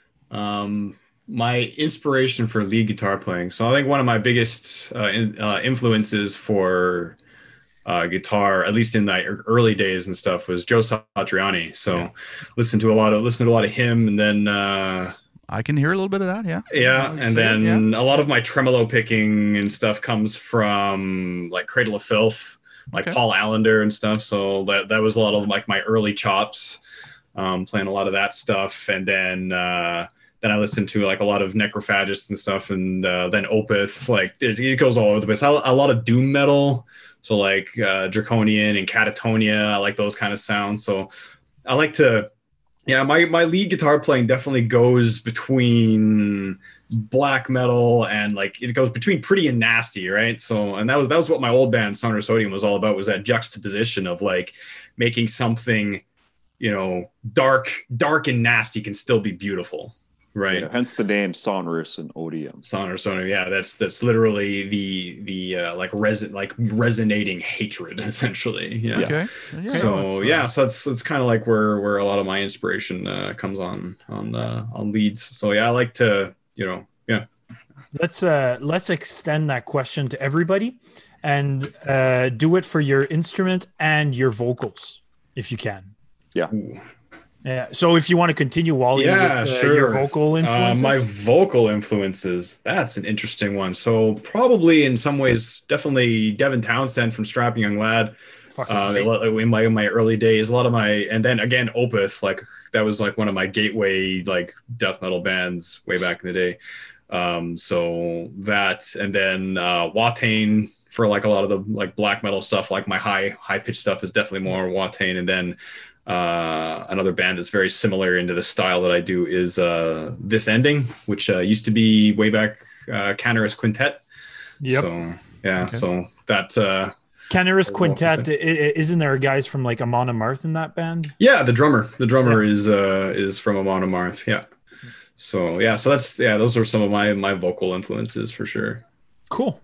My inspiration for lead guitar playing. So I think one of my biggest influences for guitar, at least in the early days and stuff, was Joe Satriani. So listened to a lot of him, and then I can hear a little bit of that. And then a lot of my tremolo picking and stuff comes from like Cradle of Filth, like Paul Allender and stuff. So that was a lot of like my early chops, playing a lot of that stuff, and then I listened to like a lot of Necrophagists and stuff, and then Opeth. Like it goes all over the place. A lot of doom metal. So like Draconian and Catatonia, I like those kind of sounds. So I like to, my lead guitar playing definitely goes between black metal and like it goes between pretty and nasty, right? So and that was what my old band Sonar Sodium was all about, was that juxtaposition of like making something, dark and nasty can still be beautiful. Right. Hence the name Sonorous and Odium. Sonorous, yeah. That's literally the resonating hatred, essentially. Yeah. Okay. So that's kind of like where a lot of my inspiration comes on leads. So I like to Let's extend that question to everybody, and do it for your instrument and your vocals if you can. Yeah. Ooh. Yeah. So if you want to continue, Wally, with sure. your vocal influences. My vocal influences, that's an interesting one. So probably in some ways, definitely Devin Townsend from Strapping Young Lad. In my early days, a lot of and then again, Opeth, like that was like one of my gateway like death metal bands way back in the day. So that, and then Watain for like a lot of the like black metal stuff, like my high pitched stuff is definitely more Watain. And then another band that's very similar into the style that I do is This Ending, which used to be way back Canaris Quintet. Yep. So so that Canaris Quintet, isn't there guys from like Amon Amarth in that band? Yeah, the drummer is from Amon Amarth. Yeah. So those are some of my vocal influences for sure. Cool.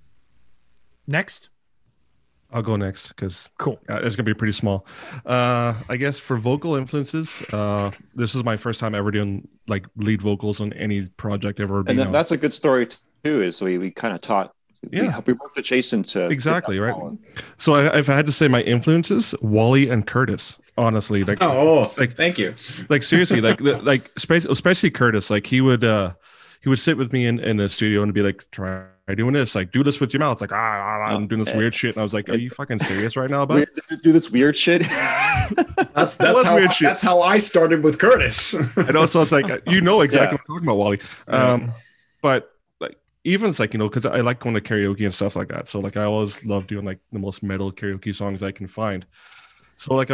Next. I'll go next because cool. It's gonna be pretty small. I guess for vocal influences, this is my first time ever doing like lead vocals on any project ever. And that's a good story too. Is we kind of taught. Yeah, we worked adjacent to exactly right. So if I had to say my influences, Wally and Curtis. Honestly, like thank you. Like seriously, like especially Curtis. Like he would sit with me in the studio and be like, try doing this, like do this with your mouth, like I'm doing this weird shit, and I was like, are you fucking serious right now about it? Do this weird shit? that's how I started with Curtis. And also it's like exactly what I'm talking about, Wally. But like even it's like because I like going to karaoke and stuff like that, so like I always love doing like the most metal karaoke songs I can find. So like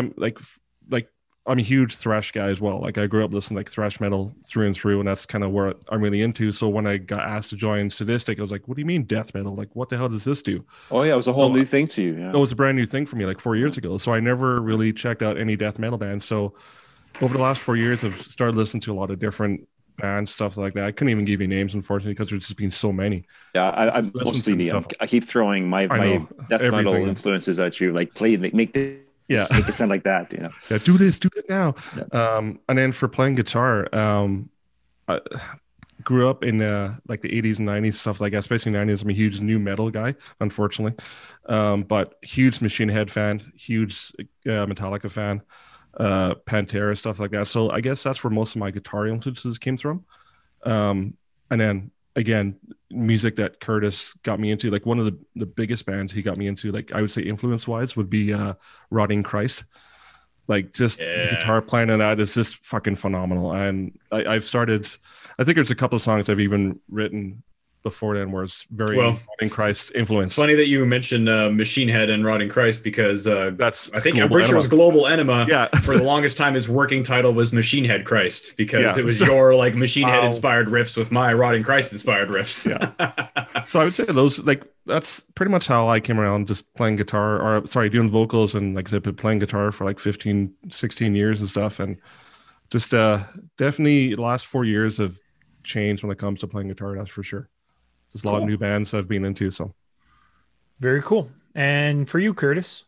I'm a huge thrash guy as well. Like I grew up listening to like thrash metal through and through, and that's kind of where I'm really into. So when I got asked to join Sadistic, I was like, what do you mean death metal? Like what the hell does this do? Oh yeah, it was a whole new thing to you. Yeah. It was a brand new thing for me like 4 years ago. So I never really checked out any death metal bands. So over the last 4 years, I've started listening to a lot of different bands, stuff like that. I couldn't even give you names, unfortunately, because there's just been so many. Yeah, I'm mostly me. I keep throwing my death metal influences at you, like make it sound like that, Yeah, do it now. Yeah. And then for playing guitar, I grew up in like the 80s and 90s, stuff like that, especially 90s. I'm a huge new metal guy, unfortunately, but huge Machine Head fan, huge Metallica fan, Pantera, stuff like that. So I guess that's where most of my guitar influences came from. And then again, music that Curtis got me into, like one of the biggest bands he got me into, like I would say influence wise, would be Rotting Christ. Like just the guitar playing on that is just fucking phenomenal. And I think there's a couple of songs I've even written before then where it's very Rotting Christ influence. It's funny that you mentioned Machine Head and Rotting Christ, because I'm pretty sure it was Global Enema. Yeah. For the longest time, his working title was Machine Head Christ, because it was your like Machine Head inspired riffs with my Rotting Christ inspired riffs. Yeah. So I would say those, like, that's pretty much how I came around just playing guitar, doing vocals, and like I said, been playing guitar for like 15, 16 years and stuff. And Just definitely the last 4 years have changed when it comes to playing guitar. That's for sure. There's a lot of new bands I've been into. So Very cool. And for you, Curtis?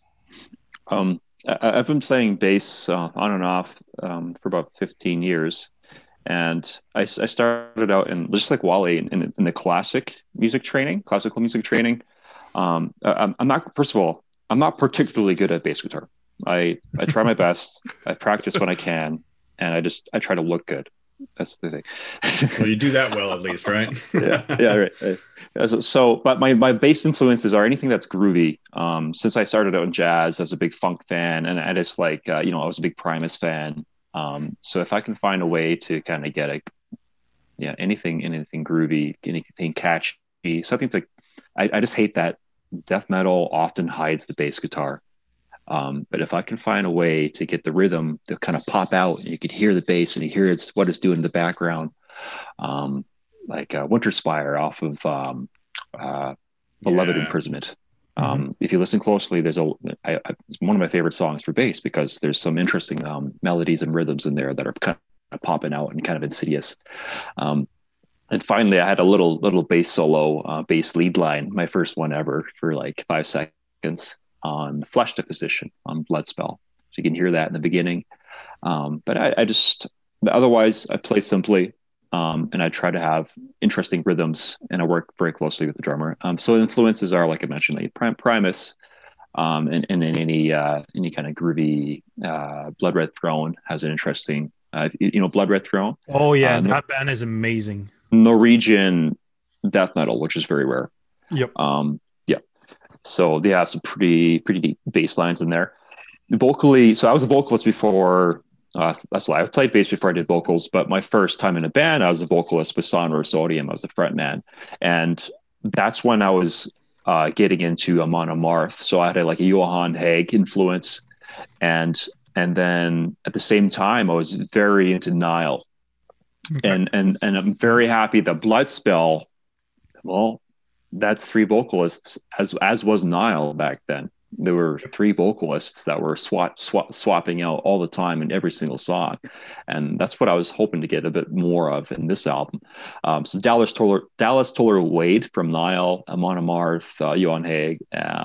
I've been playing bass on and off for about 15 years. And I started out in just like Wally in the classical music training. I'm not, first of all, I'm not particularly good at bass guitar. I try my best. I practice when I can, and I try to look good. That's the thing. Well, you do that well, at least, right? yeah, right. So, but my bass influences are anything that's groovy. Since I started out in jazz, I was a big funk fan, and I just like, I was a big Primus fan. So if I can find a way to kind of get anything groovy, anything catchy, something like, I just hate that death metal often hides the bass guitar. But if I can find a way to get the rhythm to kind of pop out, and you can hear the bass and you hear what it's doing in the background, like Winter Spire off of Beloved Imprisonment. If you listen closely, it's one of my favorite songs for bass because there's some interesting melodies and rhythms in there that are kind of popping out and kind of insidious. And finally, I had a little bass solo, bass lead line, my first one ever, for like 5 seconds on Flesh Deposition on Bloodspell. So you can hear that in the beginning. But I just, otherwise, I play simply. And I try to have interesting rhythms, and I work very closely with the drummer. So influences are, like I mentioned, like Primus, and in any kind of groovy. Blood Red Throne has an interesting, Blood Red Throne. Oh yeah, that band is amazing. Norwegian death metal, which is very rare. Yep. So they have some pretty deep bass lines in there. Vocally, so I was a vocalist before. That's why I played bass before I did vocals, but my first time in a band, I was a vocalist with Sonorous Odium. I was a frontman, and that's when I was getting into Amon Amarth. So I had a Johan Haig influence, and then at the same time, I was very into Nile, and I'm very happy that Bloodspell. Well, that's 3 vocalists, as was Nile back then. There were 3 vocalists that were swapping out all the time in every single song. And that's what I was hoping to get a bit more of in this album. So Dallas Toller Wade from Nile, Amon Amarth, Johan Haig,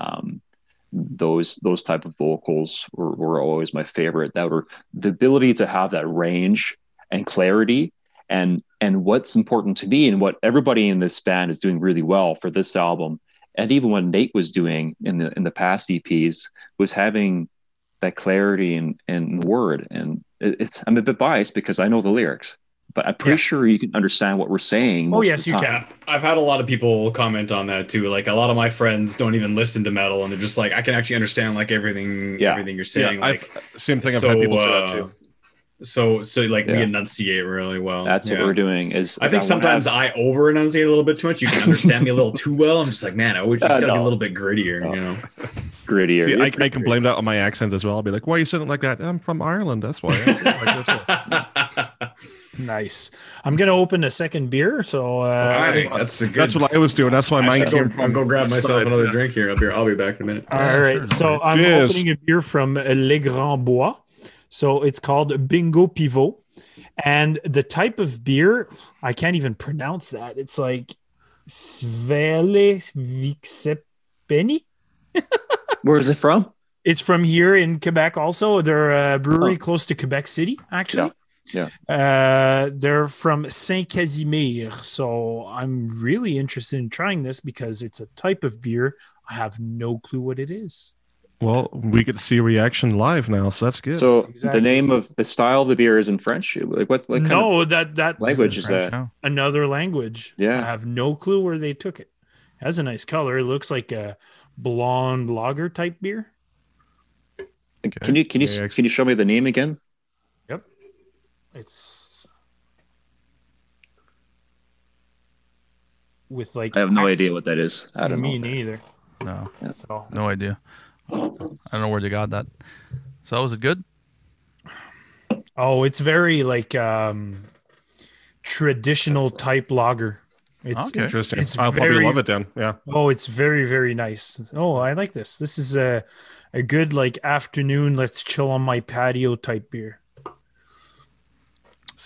those type of vocals were always my favorite. That were the ability to have that range and clarity. And what's important to me, and what everybody in this band is doing really well for this album, and even what Nate was doing in the past EPs, was having that clarity in word. And I'm a bit biased because I know the lyrics, but I'm pretty sure you can understand what we're saying. Oh yes, you can. I've had a lot of people comment on that too. Like a lot of my friends don't even listen to metal, and they're just like, I can actually understand like everything you're saying. Yeah, same thing. I've had people say that too. So we enunciate really well. That's what we're doing. I think sometimes I over enunciate a little bit too much. You can understand me a little too well. I'm just like, man, I would just gotta be a little bit grittier, Grittier. See, I can blame that on my accent as well. I'll be like, why are you saying it like that? I'm from Ireland. That's why. Nice. I'm gonna open a second beer. So that's what I was doing. That's why mine came from. I'll go grab myself another drink here. I'll be back in a minute. All right. Sure. So I'm opening a beer from Les Grands Bois. So it's called Bingo Pivot. And the type of beer, I can't even pronounce that. It's like Svele Vixepeni. Where is it from? It's from here in Quebec also. They're a brewery close to Quebec City, actually. Yeah. They're from Saint-Casimir. So I'm really interested in trying this because it's a type of beer. I have no clue what it is. Well, we get to see a reaction live now, so that's good. So the name of the style of the beer is in French. Like what kind of that language is French, that? no. Another language. Yeah, I have no clue where they took it. It has a nice color. It looks like a blonde lager type beer. Okay. Can you show me the name again? Yep. It's with like. I have no idea what that is. I don't know. Me neither. No. Yeah, so. No idea. I don't know where they got that. So was it good? Oh, it's very like traditional type lager. It's interesting. I'll probably love it then. Yeah. Oh, it's very, very nice. Oh, I like this. This is a good like afternoon, let's chill on my patio type beer.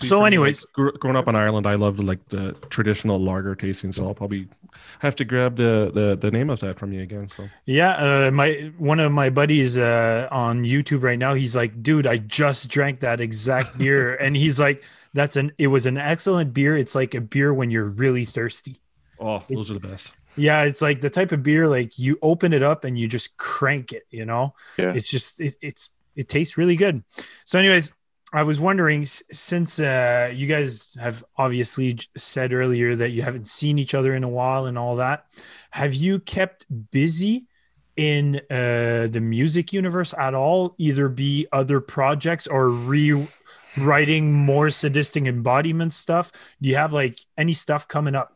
See, So for me, anyways- growing up in Ireland, I loved like the traditional lager tasting. So I'll probably have to grab the name of that from you again. So Yeah, one of my buddies on YouTube right now, he's like, dude, I just drank that exact beer, and he's like, it was an excellent beer. It's like a beer when you're really thirsty. oh, those are the best. Yeah, it's like the type of beer like you open it up and you just crank it, you know? Yeah. It's just it tastes really good. So anyways, I was wondering, since you guys have obviously said earlier that you haven't seen each other in a while and all that, have you kept busy in the music universe at all, either be other projects or rewriting more sadistic embodiment stuff? Do you have like any stuff coming up?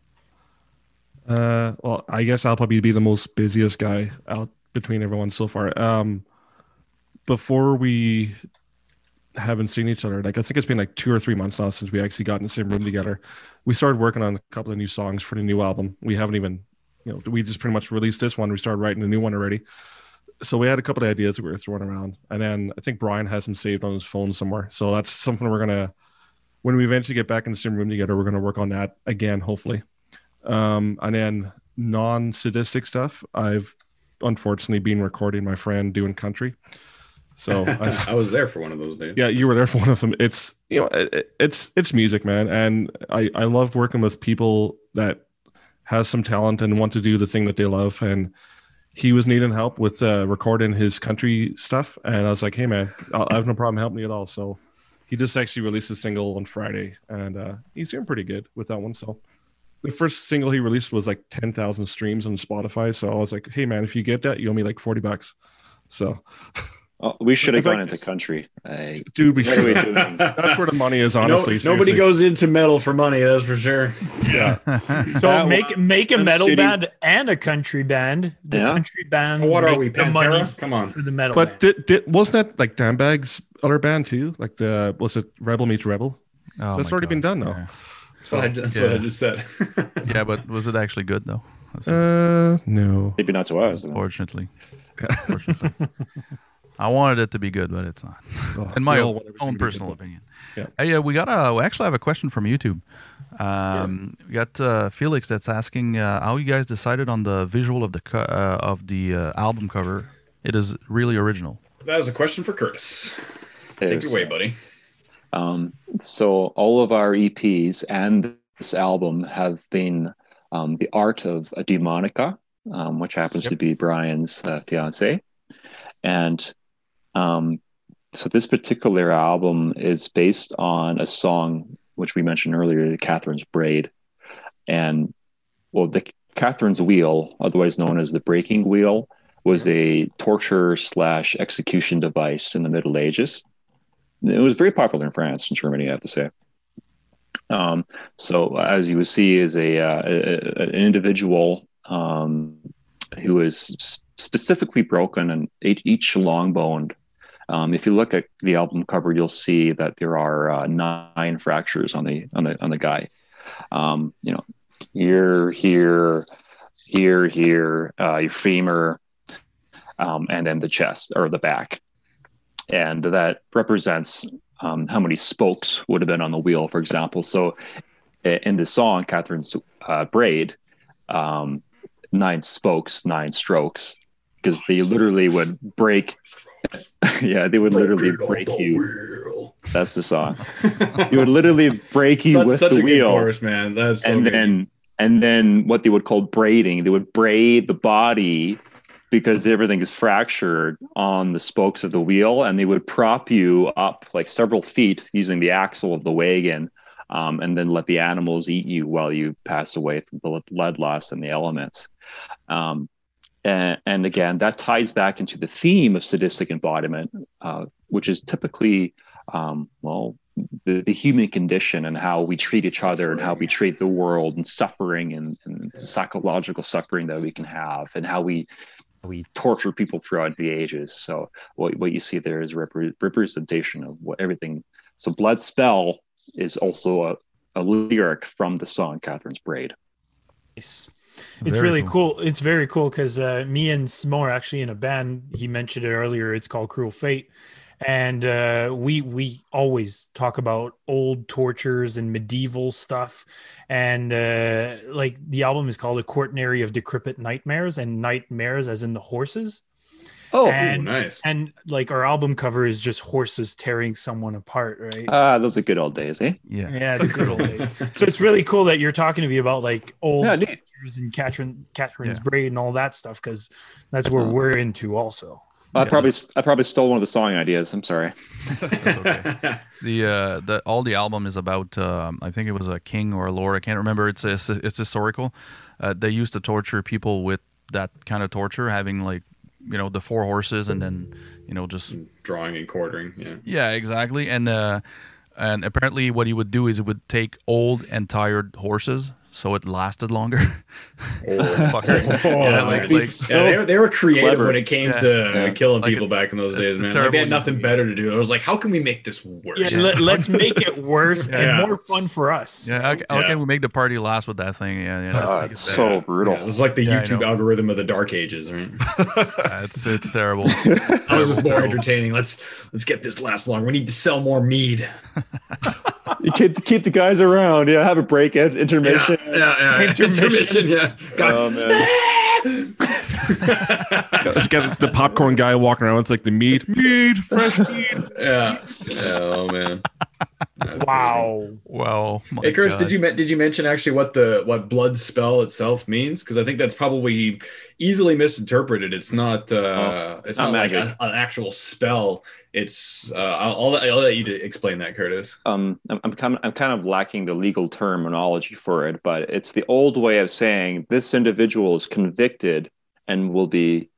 Well, I guess I'll probably be the most busiest guy out between everyone so far. Before we haven't seen each other, like I think it's been like 2 or 3 months now since we actually got in the same room together. We started working on a couple of new songs for the new album. We haven't even, we just pretty much released this one. We started writing a new one already. So we had a couple of ideas that we were throwing around, and then I think Brian has them saved on his phone somewhere. So that's something when we eventually get back in the same room together, we're gonna work on that again, hopefully. And then non-sadistic stuff, I've unfortunately been recording my friend doing country. So I was there for one of those days. Yeah, you were there for one of them. It's it's music, man, and I love working with people that has some talent and want to do the thing that they love. And he was needing help with recording his country stuff, and I was like, hey man, I have no problem helping you at all. So he just actually released a single on Friday, and he's doing pretty good with that one. So the first single he released was like 10,000 streams on Spotify. So I was like, hey man, if you get that, you owe me like $40. So we should have In gone fact, into country. dude, we What are we should. doing? That's where the money is, honestly. Nobody seriously. goes into metal for money, that's for sure. Yeah. So That make a I'm metal shooting- band and a country band. The Yeah. country band. What are makes we, the money Pantera? Come on. for the metal But band. wasn't that like Dan Bag's other band too? Like was it Rebel Meets Rebel? Oh That's my already been God, done now. yeah. That's what I just said. Yeah, but was it actually good though? No. Maybe not to us. Unfortunately. I wanted it to be good, but it's not. Oh, In my we all want everything own to be personal good. opinion. Yeah. Hey, we actually have a question from YouTube. We got Felix that's asking how you guys decided on the visual of the album cover. It is really original. That is a question for Curtis. Take it away, buddy. So all of our EPs and this album have been the art of a Demonica, which happens to be Brian's fiance. And so this particular album is based on a song which we mentioned earlier, Catherine's Braid. And well, the Catherine's Wheel, otherwise known as the breaking wheel, was a torture/execution device in the Middle Ages. It was very popular in France and Germany, I have to say. So as you would see, is an individual who is specifically broken and each long boned. If you look at the album cover, you'll see that there are 9 fractures on the guy. Here, your femur, and then the chest or the back. And that represents how many spokes would have been on the wheel, for example. So in the song, Catherine's Braid, 9 spokes, 9 strokes, because they literally would break. Yeah, they would literally break you. That's the song. They would literally break you with such the a wheel. good chorus, man. That's so good. And then what they would call braiding, they would braid the body because everything is fractured on the spokes of the wheel, and they would prop you up like several feet using the axle of the wagon, and then let the animals eat you while you pass away through the blood loss and the elements. And again, that ties back into the theme of sadistic embodiment, which is typically, the human condition and how we treat each other and how we treat the world, and suffering and psychological suffering that we can have, and how we torture people throughout the ages. So what you see there is representation of what everything. So Blood Spell is also a lyric from the song Catherine's Braid. Nice. It's Very really cool. cool. It's very cool because me and Smo are actually in a band. He mentioned it earlier. It's called Cruel Fate. and we always talk about old tortures and medieval stuff, and like the album is called A Quaternary of Decrepit Nightmares, and nightmares as in the horses. Oh, and nice. and like our album cover is just horses tearing someone apart, right? those are good old days, eh? Yeah. The good old days. So it's really cool that you're talking to me about like old Yeah, neat. tortures and Catherine's Yeah. braid and all that stuff, because that's where we're into also. I probably stole one of the song ideas. I'm sorry. That's okay. The all the album is about I think it was a king or a lord. I can't remember. It's historical. They used to torture people with that kind of torture, having like the 4 horses and then just Drawing and quartering. Yeah. yeah, exactly. And apparently what he would do is he would take old and tired horses so it lasted longer. Fucker. Yeah, that'd be so they were creative clever. when it came Yeah. to Yeah. killing Like people back in those days, man. Like, terrible they had nothing better to do. I was like, how can we make this worse? Yeah, let's make it worse Yeah. and more fun for us. Yeah, how Yeah. can we make the party last with that thing? Yeah, that's Oh, make it it's sad. so brutal. Yeah, it was like the Yeah, I YouTube know. algorithm of the dark ages, right? Yeah, it's terrible. That was just more Terrible. entertaining. Let's get this last long. We need to sell more mead. You keep the guys around. Yeah, have a break, intermission. Yeah. Intermission. Yeah. Oh, man. Just got the popcorn guy walking around with like the meat, fresh meat. Yeah. Oh man. That's crazy. Wow. Well, my Hey, Curtis, God. did you mention actually what blood spell itself means? Because I think that's probably easily misinterpreted. It's not it's not not like magic. an actual spell. It's I'll let you to explain that, Curtis. I'm kind of lacking the legal terminology for it, but it's the old way of saying this individual is convicted and will be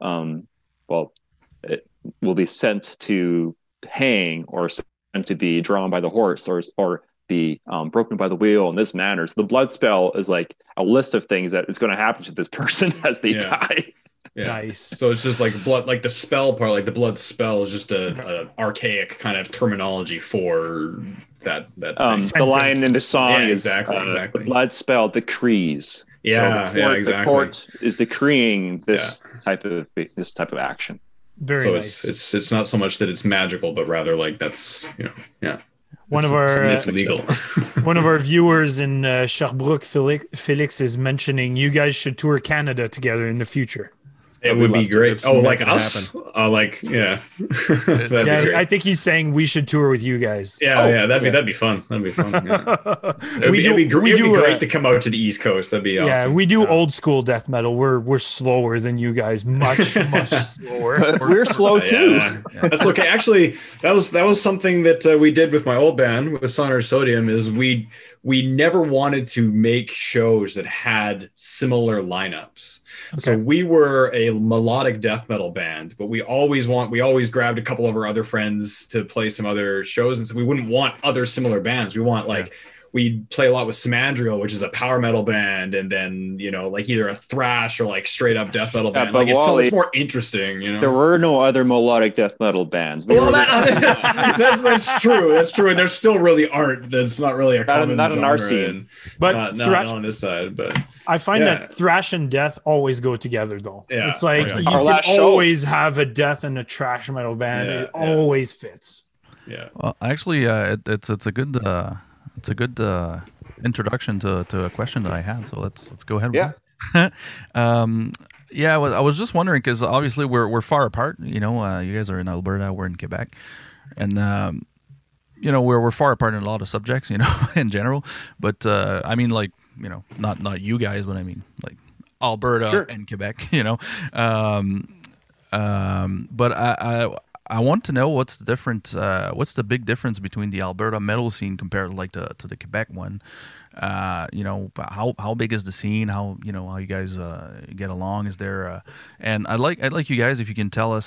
it will be sent to hang or sent to be drawn by the horse or be broken by the wheel in this manner. So the blood spell is like a list of things that is going to happen to this person as they Yeah. die. Yeah. Nice. So it's just like blood, like the spell part, like the blood spell is just an archaic kind of terminology for that. The Sentence. line in the song Yeah, is exactly. the blood spell decrees. Yeah, So the yeah, court, exactly. The court is decreeing this type of action. Very So nice. it's not so much that it's magical, but rather like that's One of our it's legal. one of our viewers in Sherbrooke, Felix, is mentioning you guys should tour Canada together in the future. It would would love be to. great. It's Oh, meant like to us? That'd Yeah, be great. I think he's saying we should tour with you guys. Yeah, that'd be fun. That'd be fun. Yeah. It'd be great to come out to the East Coast. That'd be awesome. Yeah, we do old school death metal. We're slower than you guys, much slower. But we're slow too. Yeah. That's okay. Actually, that was something that we did with my old band with Sonor Sodium. Is we never wanted to make shows that had similar lineups. So we were a melodic death metal band, but we always grabbed a couple of our other friends to play some other shows, and so we wouldn't want other similar bands. We want we'd play a lot with Simandriel, which is a power metal band, and then like either a thrash or like straight up death metal band. but Like it's so Wally, much more interesting, There were no other melodic death metal bands. We Well, were that's true. That's true, and there still really aren't. That's not really a common not in our genre, scene. and But not thrash, on this side. But I find yeah. that thrash and death always go together, though. Yeah. It's like Oh, yeah. you Our can last show- always have a death and a trash metal band. Yeah, It yeah. always fits. yeah, Well, actually, it's a good introduction to a question that I had. So let's go ahead. Yeah. With it. Yeah. Well, I was just wondering because obviously we're far apart. You guys are in Alberta, we're in Quebec, and we're far apart in a lot of subjects. In general. But I mean, like not you guys, but I mean like Alberta Sure. and Quebec. But I want to know what's the big difference between the Alberta metal scene compared to the Quebec one. How big is the scene? How you guys get along? Is there and I'd like you guys if you can tell us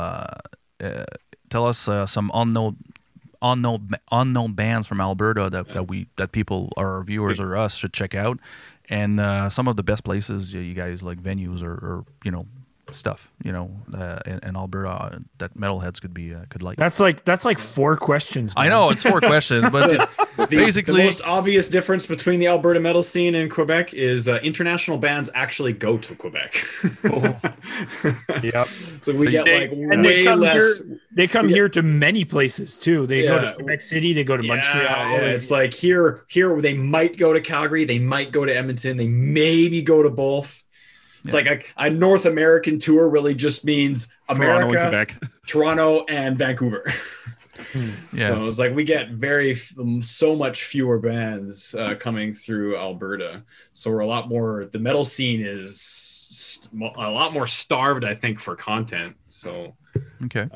some unknown bands from Alberta that people our viewers or us should check out, and some of the best places you guys like venues or stuff in Alberta that metalheads could like. That's like 4 questions. I man. know it's 4 questions, but it's basically the most obvious difference between the Alberta metal scene and Quebec is international bands actually go to Quebec. Yep. So we get They- like and they way come less. They come here to many places too. They go Yeah. to Quebec City. They go to Montreal. Yeah, it's like here they might go to Calgary, they might go to Edmonton, they maybe go to both. It's like a North American tour really just means Toronto and America, Quebec. Toronto, and Vancouver. Yeah. So it's like we get so much fewer bands coming through Alberta. So we're a lot more. The metal scene is a lot more starved, I think, for content. So Okay.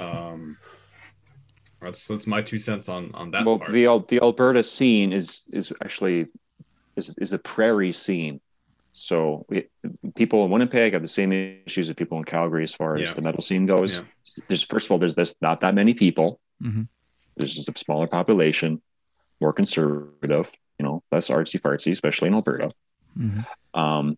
that's my 2 cents on that Well, part. the Alberta scene is actually a prairie scene. So people in Winnipeg have the same issues as people in Calgary as far as the metal scene goes. Yeah. First of all, there's not that many people. Mm-hmm. There's just a smaller population, more conservative, less artsy fartsy, especially in Alberta. Mm-hmm.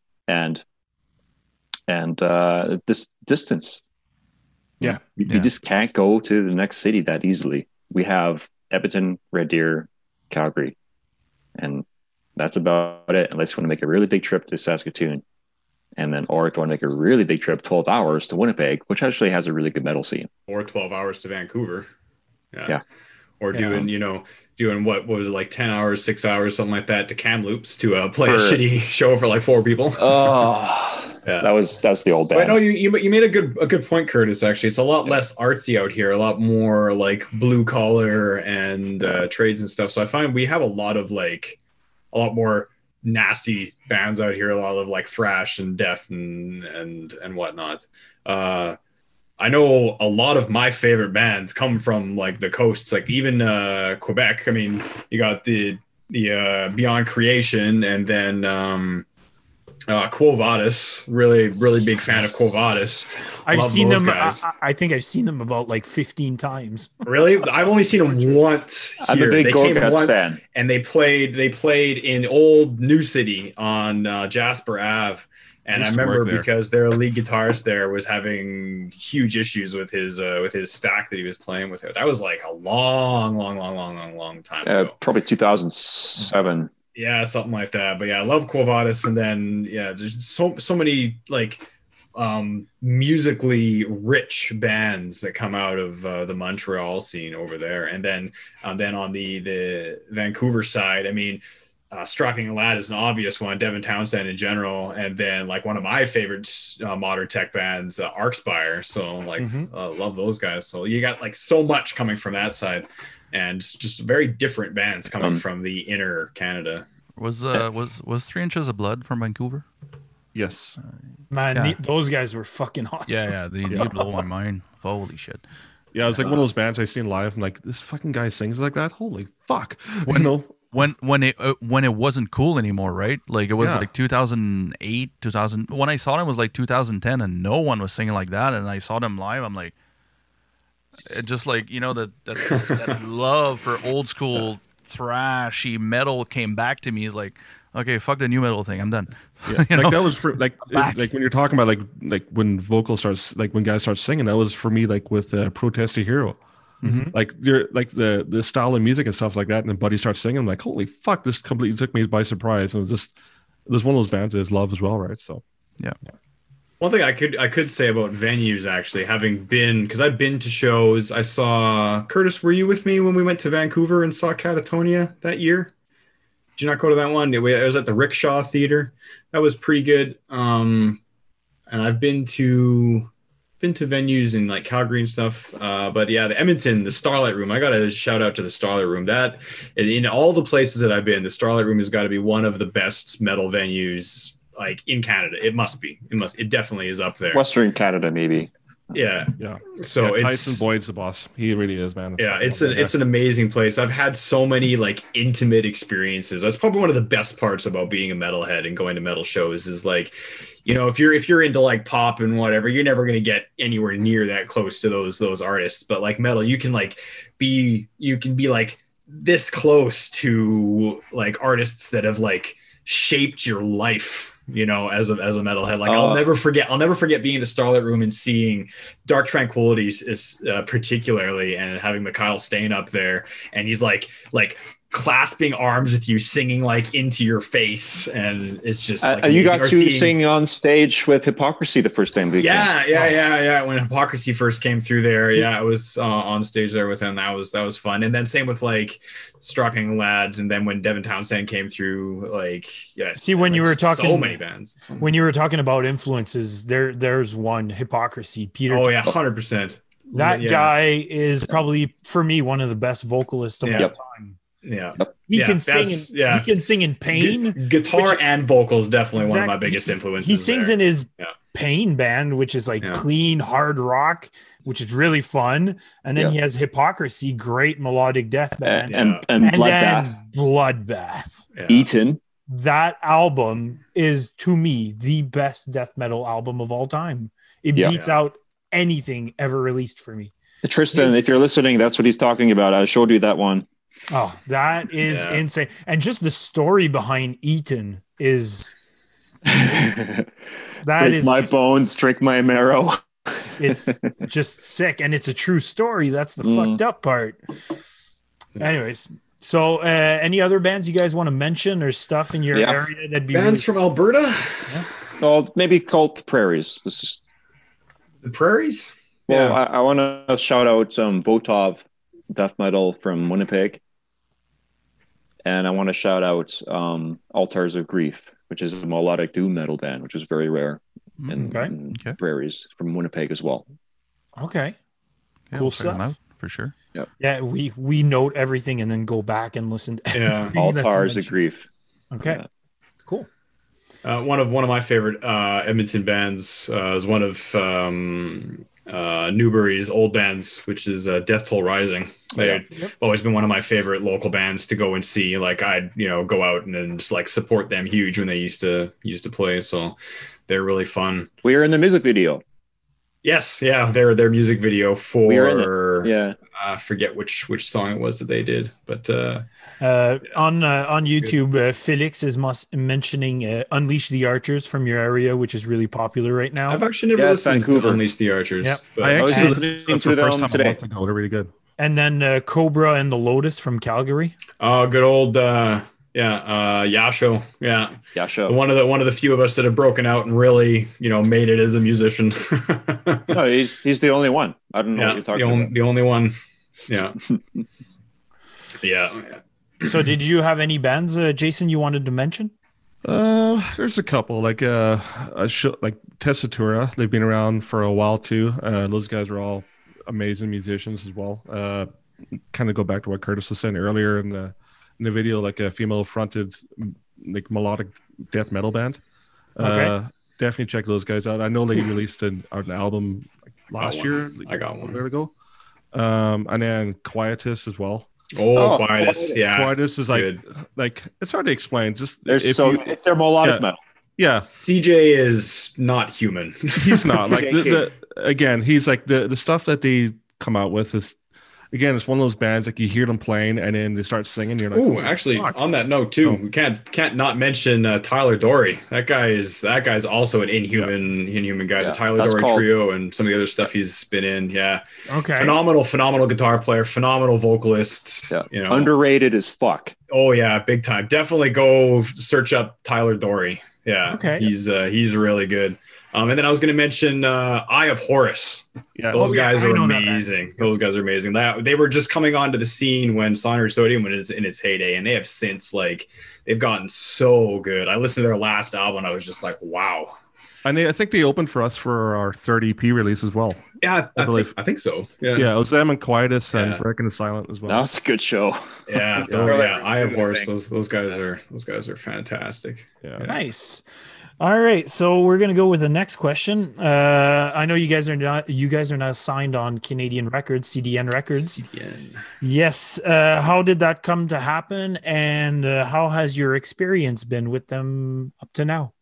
And this distance. Yeah. You just can't go to the next city that easily. We have Edmonton, Red Deer, Calgary, and that's about it, unless you want to make a really big trip to Saskatoon. And then, or if you want to make a really big trip, 12 hours to Winnipeg, which actually has a really good metal scene. Or 12 hours to Vancouver. Yeah. Or doing, doing what was it, like 10 hours, 6 hours, something like that to Kamloops to play a shitty show for like 4 people. Oh, that's the old band. But no, you made a good point, Curtis. Actually, it's a lot less artsy out here, a lot more like blue collar and trades and stuff. So I find we have a lot more nasty bands out here, a lot of like thrash and death and whatnot. I know a lot of my favorite bands come from like the coasts, like even Quebec. I mean, you got the Beyond Creation, and then Quo Vadis. Really big fan of Quo Vadis. I've Love seen those them. guys. I think I've seen them about like 15 times. Really? I've only seen them once here. I'm a big They came Gorguts once fan. and they played in old New City on Jasper Ave. And I used to work remember there. because their lead guitarist there was having huge issues with his stack that he was playing with it. That was like a long time ago. Probably 2007. Yeah, something like that. But yeah, I love Quo Vadis, and then there's so many like musically rich bands that come out of the Montreal scene over there, and then on the Vancouver side, I mean, Strapping Lad is an obvious one, Devin Townsend in general, and then like one of my favorite modern tech bands, Arcspire. So like, love those guys. So you got like so much coming from that side, and just very different bands coming from the inner Canada. Was 3 Inches of Blood from Vancouver? Yes. Man, those guys were fucking awesome. Yeah. They blow my mind. Holy shit. Yeah, it's like one of those bands I seen live. I'm like, this fucking guy sings like that. Holy fuck! When it wasn't cool anymore, right? Like it was like 2008, 2000. When I saw them, it was like 2010, and no one was singing like that. And I saw them live. I'm like, it just like that love for old school thrashy metal came back to me. Is like, okay, fuck the new metal thing. I'm done. Yeah, that was for like when you're talking about like when vocal starts, like when guys start singing. That was for me like with Protest a Hero. Mm-hmm. Like you're like the style of music and stuff like that, and then Buddy starts singing. I'm like, holy fuck, this completely took me by surprise. And it was one of those bands that is love as well, right? So yeah. One thing I could say about venues, actually, having been, because I've been to shows. I saw Curtis. Were you with me when we went to Vancouver and saw Catatonia that year? Did you not go to that one? It was at the Rickshaw Theater. That was pretty good. And I've been to venues in like Calgary and stuff. But yeah, the Edmonton, the Starlight Room. I got to shout out to the Starlight Room. That in all the places that I've been, the Starlight Room has got to be one of the best metal venues like in Canada. It must be. It definitely is up there. Western Canada, maybe. Yeah. So Tyson Boyd's the boss. He really is, man. Yeah, it's an amazing place. I've had so many like intimate experiences. That's probably one of the best parts about being a metalhead and going to metal shows is like, if you're into like pop and whatever, you're never going to get anywhere near that close to those artists. But like metal, you can be like this close to like artists that have like shaped your life. As a metalhead, like I'll never forget being in the Starlight Room and seeing Dark Tranquillities is particularly, and having Mikhail Stain up there, and he's like clasping arms with you, singing like into your face, and it's just like you amazing. got to sing on stage with Hypocrisy the first time. Yeah. When Hypocrisy first came through there, See, I was on stage there with him. That was fun. And then same with like Strocking Lads, and then when Devin Townsend came through, like See, when you were talking, so many bands. When you were talking about influences, there's one, Hypocrisy. Peter. Oh yeah, 100%. That guy is probably for me one of the best vocalists of all time. Yeah, he can sing. He can sing in pain, guitar and vocals. Definitely one of my biggest influences. He sings in his Pain band, which is like clean hard rock, which is really fun. And then he has Hypocrisy, great melodic death band, and Bloodbath. Eaton. That album is to me the best death metal album of all time. It beats out anything ever released for me. Tristan, if you're listening, that's what he's talking about. I showed you that one. Oh, that is insane. And just the story behind Eaton is break my bones, drink my marrow. It's just sick. And it's a true story. That's the fucked up part. Anyways, so any other bands you guys want to mention or stuff in your area that'd be bands from Alberta? Yeah. Well, maybe Cult Prairies. This is the Prairies. Well, I want to shout out some Votov death metal from Winnipeg. And I want to shout out Altars of Grief, which is a melodic doom metal band, which is very rare in Prairies from Winnipeg as well. Okay. Cool stuff. For sure. Yep. Yeah, we note everything and then go back and listen to Altars of Grief. Okay. Cool. One of my favorite Edmonton bands is one of Newbury's old bands, which is Death Toll Rising. They've always been one of my favorite local bands to go and see. Like I'd go out and just like support them huge when they used to play. So they're really fun. We were in the music video. Yes, their music video for I forget which song it was that they did, but on YouTube, Felix is mentioning Unleash the Archers from your area, which is really popular right now. I've actually never listened to Unleash the Archers. Yep. But I actually listened to the first time today. They're really good. And then Cobra and the Lotus from Calgary. Oh, good old Yasho. Yeah. Yasho. One of the few of us that have broken out and really, made it as a musician. No, he's the only one. I don't know what you're talking about. The only one. Yeah. Yeah. So did you have any bands, Jason, you wanted to mention? There's a couple like Tessitura. They've been around for a while too. Those guys are all amazing musicians as well. Kind of go back to what Curtis was saying earlier in the video, like a female fronted like melodic death metal band. Definitely check those guys out. I know they released an album last year. I got one. There we go. And then Quietus as well. Quietus. Yeah. Quietus is like it's hard to explain. Just they're melodic metal. Yeah. CJ is not human. He's not like again, he's like the stuff that they come out with is again, it's one of those bands like you hear them playing and then they start singing. You're like, oh, actually, on that note too, we can't not mention Tyler Dory. That guy's also an inhuman guy. The Tyler Dory Trio and some of the other stuff he's been in. Yeah. Okay. Phenomenal guitar player, phenomenal vocalist. Yeah. Underrated as fuck. Oh yeah, big time. Definitely go search up Tyler Dory. Yeah. Okay. He's really good. And then I was going to mention Eye of Horus. Yeah, those guys are amazing. Those guys are amazing. They were just coming onto the scene when Sonor Sodium was in its heyday, and they have since they've gotten so good. I listened to their last album, and I was just like, wow. And I think they opened for us for our third EP release as well. Yeah, I believe. I think so. Yeah, it was them and Quietus and Breaking the Silent as well. That was a good show. Yeah, Eye of Horus. Those guys are fantastic. Yeah, nice. All right, so we're gonna go with the next question. I know you guys are now signed on Canadian Records, CDN Records. CDN. Yes. How did that come to happen, and how has your experience been with them up to now?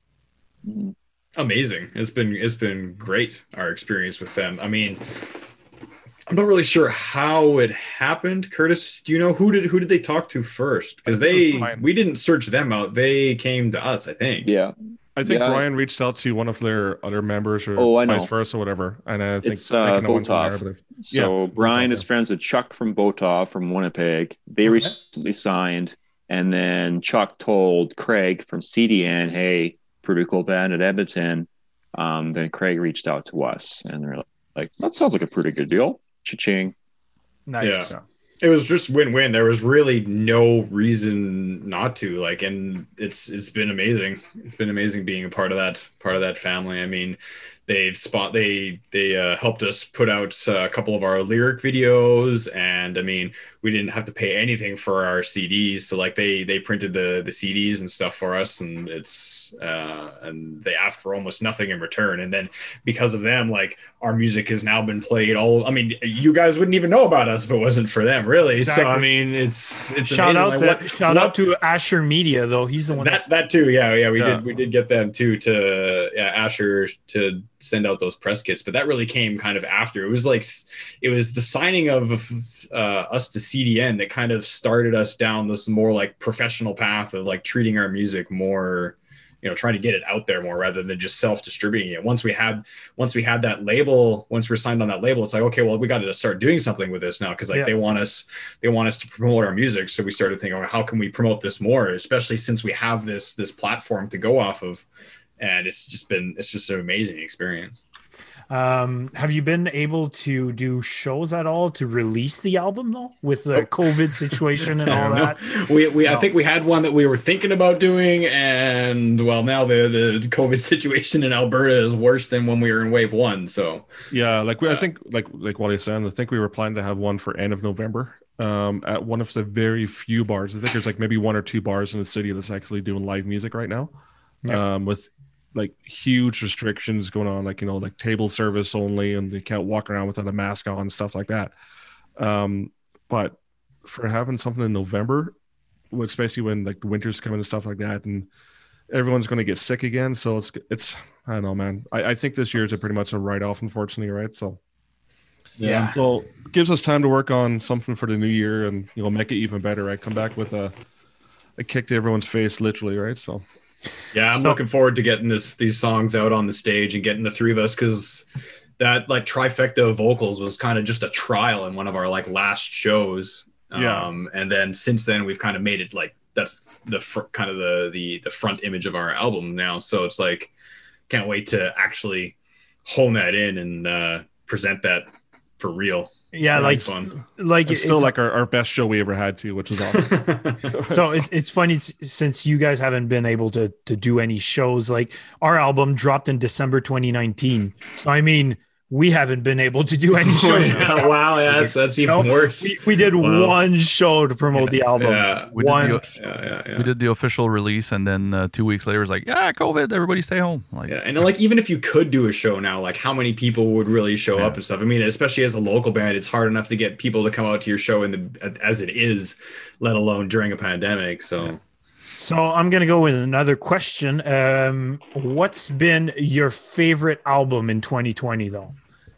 Amazing. It's been great. Our experience with them. I mean, I'm not really sure how it happened. Curtis, do you know who did they talk to first? Because we didn't search them out. They came to us, I think. Yeah. I think Yeah. Brian reached out to one of their other members or Oh, I know. vice versa, or whatever. And I think It's I can know one from there, I Votov. believe. So Yeah, Brian Votov, is yeah. friends with Chuck from Votov from Winnipeg. They Okay. recently signed, and then Chuck told Craig from CDN, "Hey, pretty cool band at Edmonton." Then Craig reached out to us, and they're like, "That sounds like a pretty good deal." Cha-ching. Nice. Yeah. It was just win-win. There was really no reason not to, like, and it's been amazing. It's been amazing being a part of that family. I mean, they helped us put out a couple of our lyric videos, and I mean, we didn't have to pay anything for our CDs. So like they printed the CDs and stuff for us, and it's and they asked for almost nothing in return. And then because of them, like our music has now been played all. I mean, you guys wouldn't even know about us if it wasn't for them, really. Exactly. So I mean, it's Shout amazing. out Like, to out to Asher Media though. He's the one that too. Yeah, Yeah. we did get them too to Asher to send out those press kits, but that really came kind of after. It was the signing of us to CDN that kind of started us down this more like professional path of like treating our music more, trying to get it out there more rather than just self-distributing it. Once we had that label, once we're signed on that label, it's like, okay, well, we got to start doing something with this now, because like they want us to promote our music. So we started thinking, oh, how can we promote this more, especially since we have this platform to go off of. And it's just an amazing experience. Have you been able to do shows at all to release the album though, with the COVID situation and all that? I think we had one that we were thinking about doing, and well, now the COVID situation in Alberta is worse than when we were in wave 1. So Yeah, I think like Wally said, I think we were planning to have one for end of November. At one of the very few bars. I think there's like maybe 1 or 2 bars in the city that's actually doing live music right now. With like huge restrictions going on, like like table service only, and they can't walk around without a mask on and stuff like that. But for having something in November, especially when like the winter's coming and stuff like that, and everyone's going to get sick again, so it's I don't know, man. I think this year is pretty much a write-off, unfortunately, right? So Yeah. so it gives us time to work on something for the new year, and make it even better, right? Come back with a kick to everyone's face, literally, right? So yeah, I'm looking forward to getting these songs out on the stage and getting the three of us, because that like trifecta of vocals was kind of just a trial in one of our like last shows. And then since then we've kind of made it like that's the kind of the front image of our album now. So it's like can't wait to actually hone that in and present that for real. Yeah, like fun. Like it's still like our best show we ever had too, which was awesome. So it's funny since you guys haven't been able to do any shows. Like our album dropped in December 2019, so I mean we haven't been able to do any shows. Wow, yeah, that's even worse. We did one show to promote the album. Yeah, we did the official release, and then 2 weeks later, it was like, COVID, everybody stay home. Like, and like even if you could do a show now, like how many people would really show up and stuff? I mean, especially as a local band, it's hard enough to get people to come out to your show as it is, let alone during a pandemic. So. So I'm gonna go with another question. What's been your favorite album in 2020, though?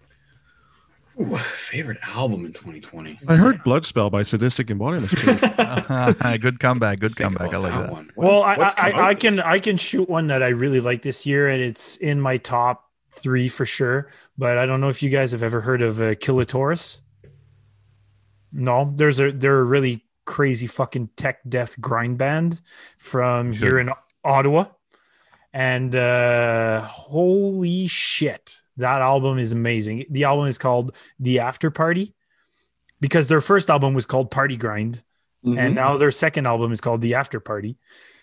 Ooh, favorite album in 2020. I heard Bloodspell by Sadistic Embodiment. Good comeback. Good comeback. I like that. One. Well, I can shoot one that I really like this year, and it's in my top 3 for sure. But I don't know if you guys have ever heard of Kilitaurus. No, they're a really crazy fucking tech death grind band from here in Ottawa, and holy shit, that album is amazing. The album is called The After Party because their first album was called Party Grind, and now their second album is called The After Party.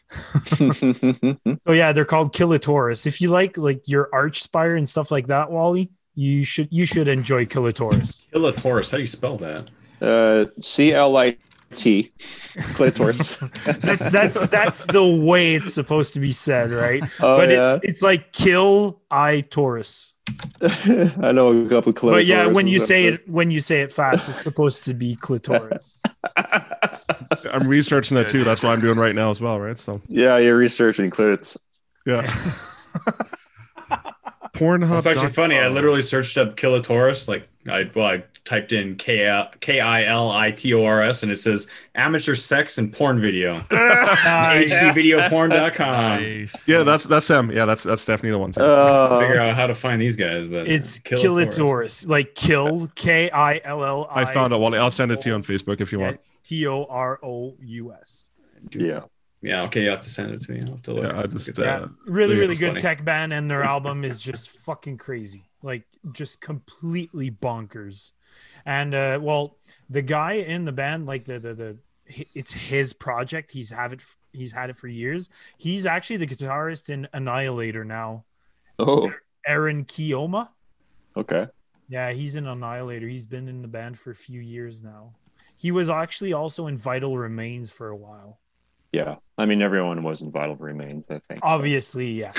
So yeah, they're called Kilitaurus. If you like your Archspire and stuff like that, Wally, you should enjoy Kilitaurus. Kilitaurus, how do you spell that? CLIT. Clitoris. that's the way it's supposed to be said, right? Oh, but yeah. it's like kill I Taurus. I know a couple clitoris. But yeah, when you say it fast, it's supposed to be clitoris. I'm researching that too. That's what I'm doing right now as well, right? So yeah, you're researching clits. Yeah. Pornhub. It's actually funny. I literally searched up Kilitaurus like I typed in KILITORS and it says amateur sex and porn video. Nice. HDvideoporn.com. Nice. Yeah, that's them. Yeah, that's definitely the one. Too. Figure out how to find these guys, but It's Kilitaurus. Kilitaurus, like kill KILL. I found it, Wally. I'll send it to you on Facebook if you want. TOROUS. Yeah. Yeah, okay, you have to send it to me. I'll have to look. Yeah, I just look at that. Yeah, really, really good funny. tech band, and their album is just fucking crazy, like just completely bonkers. And well, the guy in the band, like it's his project. He's had it for years. He's actually the guitarist in Annihilator now. Oh, Aaron Kioma. okay. Yeah, he's in Annihilator. He's been in the band for a few years now. He was actually also in Vital Remains for a while. Yeah. I mean, everyone was in Vital Remains, I think. Obviously, yeah.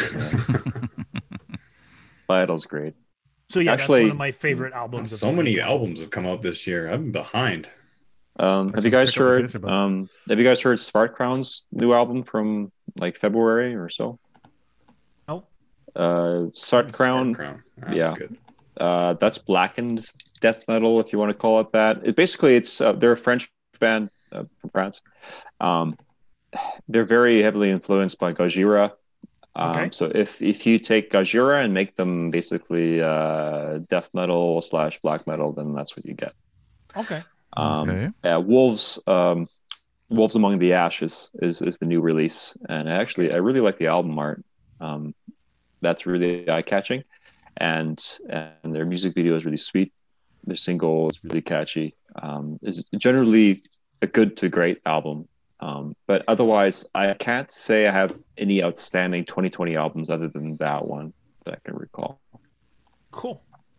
Vital's great. So yeah, Actually, that's one of my favorite albums. So many albums have come out this year. I'm behind. Have you guys pick up the heard? pace about Have you guys heard Smart Crown's new album from like February or so? Nope. Smart Crown. That's Yeah. good. That's blackened death metal, if you want to call it that. They're a French band from France. They're very heavily influenced by Gojira. Okay. So if you take Gojira and make them basically death metal / black metal, then that's what you get. Okay. Okay. Yeah, Wolves Among the Ashes is the new release, and I really like the album art. That's really eye catching, and their music video is really sweet. Their single is really catchy. It's generally a good to great album. But otherwise, I can't say I have any outstanding 2020 albums other than that one that I can recall. Cool.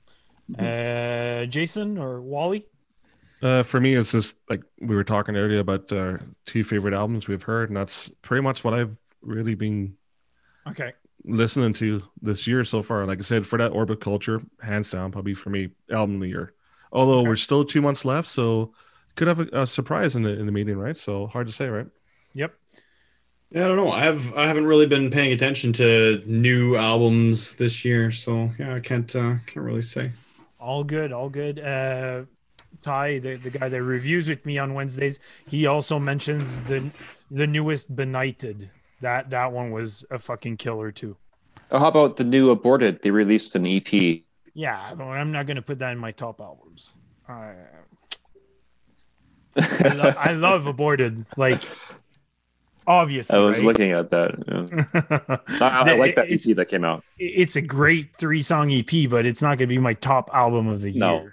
Jason or Wally? For me, it's just like we were talking earlier about two favorite albums we've heard, and that's pretty much what I've really been Okay. listening to this year so far. Like I said, for that Orbit Culture, hands down, probably for me, album of the year. Although Okay. we're still 2 months left, so could have a surprise in the meeting, right? So hard to say, right? Yep. Yeah, I don't know. I haven't really been paying attention to new albums this year, so yeah, I can't really say. All good. All good. Ty, the guy that reviews with me on Wednesdays, he also mentions the newest Benighted. That one was a fucking killer too. Oh, how about the new Aborted? They released an EP. Yeah, but I'm not gonna put that in my top albums. I love Aborted. Like, obviously, I was right? looking at that. Yeah. I like that EP that came out. It's a great 3-song EP, but it's not gonna be my top album of the year. No.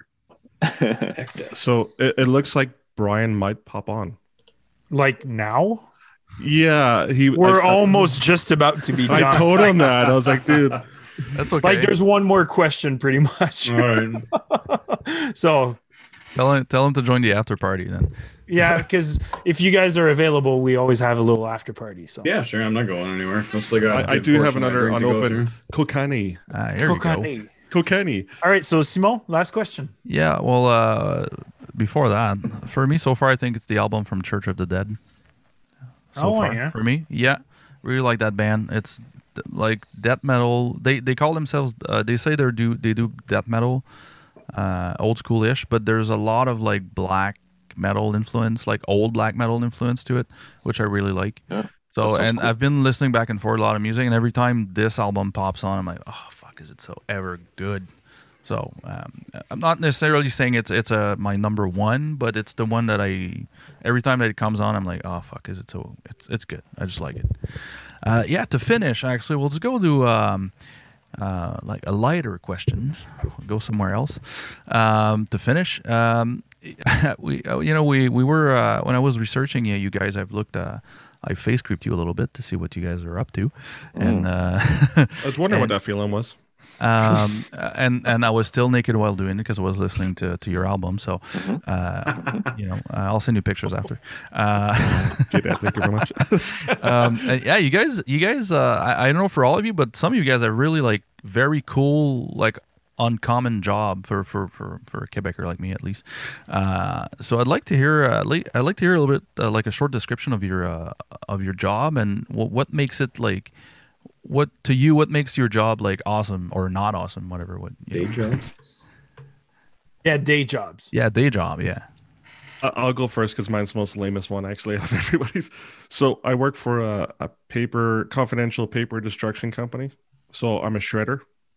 So it looks like Brian might pop on. Like now, Yeah, we're almost just about to be done. I told him that. I was like, dude. That's okay. Like, there's one more question, pretty much. All right. So, Tell him to join the after party then. yeah, because if you guys are available, we always have a little after party. So, Yeah, sure. I'm not going anywhere. I still got. a I good do have portion of my another drink to go unopened through. Kokani. Here we go. Kokani. Kokani. All right, so Simon, last question. Yeah, well, before that, for me so far, I think it's the album from Church of the Dead. So far, yeah. for me, yeah, really like that band. It's like death metal. They call themselves. They say they do death metal, old school-ish, but there's a lot of like black metal influence, like old black metal influence to it, which I really like. Yeah, So, that sounds and cool. I've been listening back and forth a lot of music, and every time this album pops on, I'm like, oh fuck, is it so ever good? So I'm not necessarily saying it's my number one, but it's the one that every time that it comes on, I'm like, oh fuck, is it so? It's good. I just like it. Yeah. To finish, actually, we'll just go to like a lighter question. We'll go somewhere else. To finish, we were when I was researching you guys, I've looked. I face creeped you a little bit to see what you guys are up to, and I was wondering what that feeling was. and I was still naked while doing it because I was listening to your album. So, I'll send you pictures after. Thank you very much. And yeah, you guys. I don't know for all of you, but some of you guys are really like very cool, like uncommon job for a Quebecer like me at least. So I'd like to hear. I'd like to hear a little bit like a short description of your job and what makes it like. What makes your job like awesome or not awesome, whatever? Day jobs. Yeah, day jobs. Yeah, day job. Yeah. I'll go first because mine's the most lamest one actually of everybody's. So I work for a confidential paper destruction company. So I'm a shredder,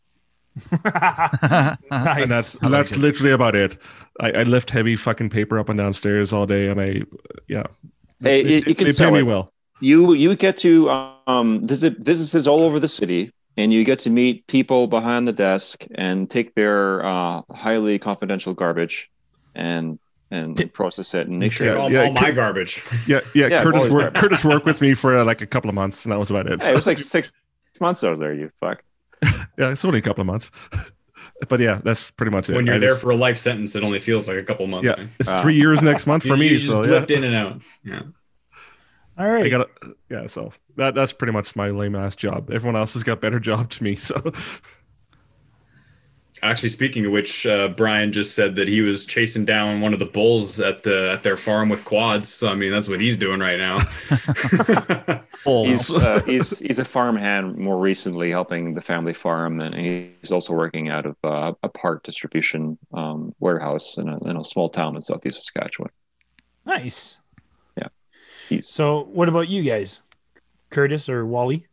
Nice. and that's I like it. literally about it. I lift heavy fucking paper up and downstairs all day, and Hey, they you can pay sell me it. well. You get to visit businesses all over the city, and you get to meet people behind the desk and take their highly confidential garbage and process it and make sure. Take Yeah, all my garbage. Yeah. Yeah, Curtis worked with me for like a couple of months, and that was about it. Hey, it was like 6 months I was there. You fuck. Yeah, it's only a couple of months. But yeah, that's pretty much it. When you're I there just- for a life sentence, it only feels like a couple months. yeah, man. it's 3 years next month for You me. just So yeah, blipped in and out. Yeah. All right. I got yeah. So that's pretty much my lame ass job. Everyone else has got better job to me. So Actually, speaking of which, Brian just said that he was chasing down one of the bulls at their farm with quads. So I mean, that's what he's doing right now. He's a farmhand more recently, helping the family farm, and he's also working out of a part distribution warehouse in a small town in southeast Saskatchewan. Nice. Yeah. So, what about you guys, Curtis or Wally?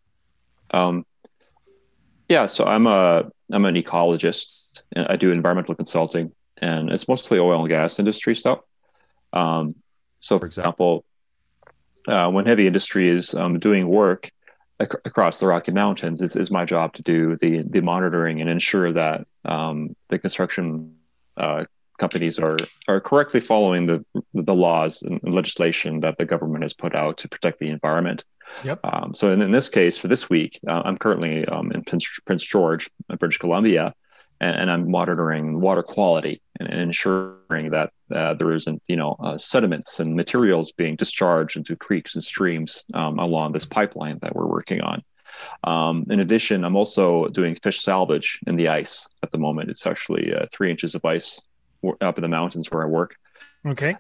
Yeah, so I'm an ecologist. And I do environmental consulting, and it's mostly oil and gas industry stuff. So, for example, when heavy industry is doing work across the Rocky Mountains, it's my job to do the monitoring and ensure that the construction companies are correctly following the laws and legislation that the government has put out to protect the environment. Yep. So in this case, for this week, I'm currently in Prince George, British Columbia, and I'm monitoring water quality and ensuring that there isn't, sediments and materials being discharged into creeks and streams along this pipeline that we're working on. In addition, I'm also doing fish salvage in the ice at the moment. It's actually 3 inches of ice up in the mountains where I work. Okay.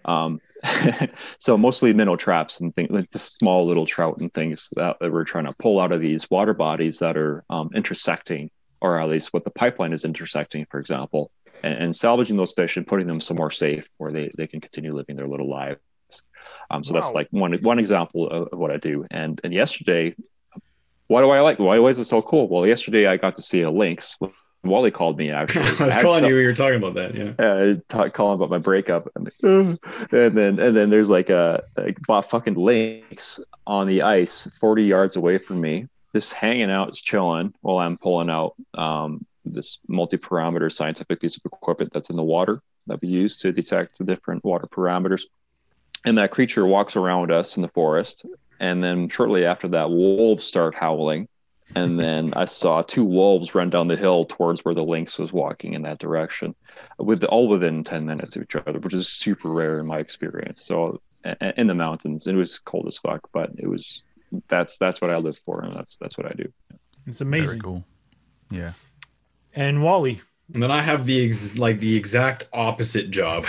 So mostly minnow traps and things like just small little trout and things that we're trying to pull out of these water bodies that are intersecting, or at least what the pipeline is intersecting, for example, and salvaging those fish and putting them somewhere safe where they can continue living their little lives. So that's like one example of what I do. And yesterday, why is it so cool? Well, yesterday I got to see a lynx. Wally called me actually. I was calling you. You were talking about that. Yeah. Calling about my breakup, and then there's like a fucking lynx on the ice, 40 yards away from me, just hanging out, chilling while I'm pulling out this multi-parameter scientific piece of equipment that's in the water that we use to detect the different water parameters. And that creature walks around us in the forest, and then shortly after that, wolves start howling. And then I saw 2 wolves run down the hill towards where the lynx was walking in that direction, all within 10 minutes of each other, which is super rare in my experience. So in the mountains, it was cold as fuck, but that's what I live for, and that's what I do. It's amazing. Very cool. Yeah. And Wally. And then I have the exact opposite job.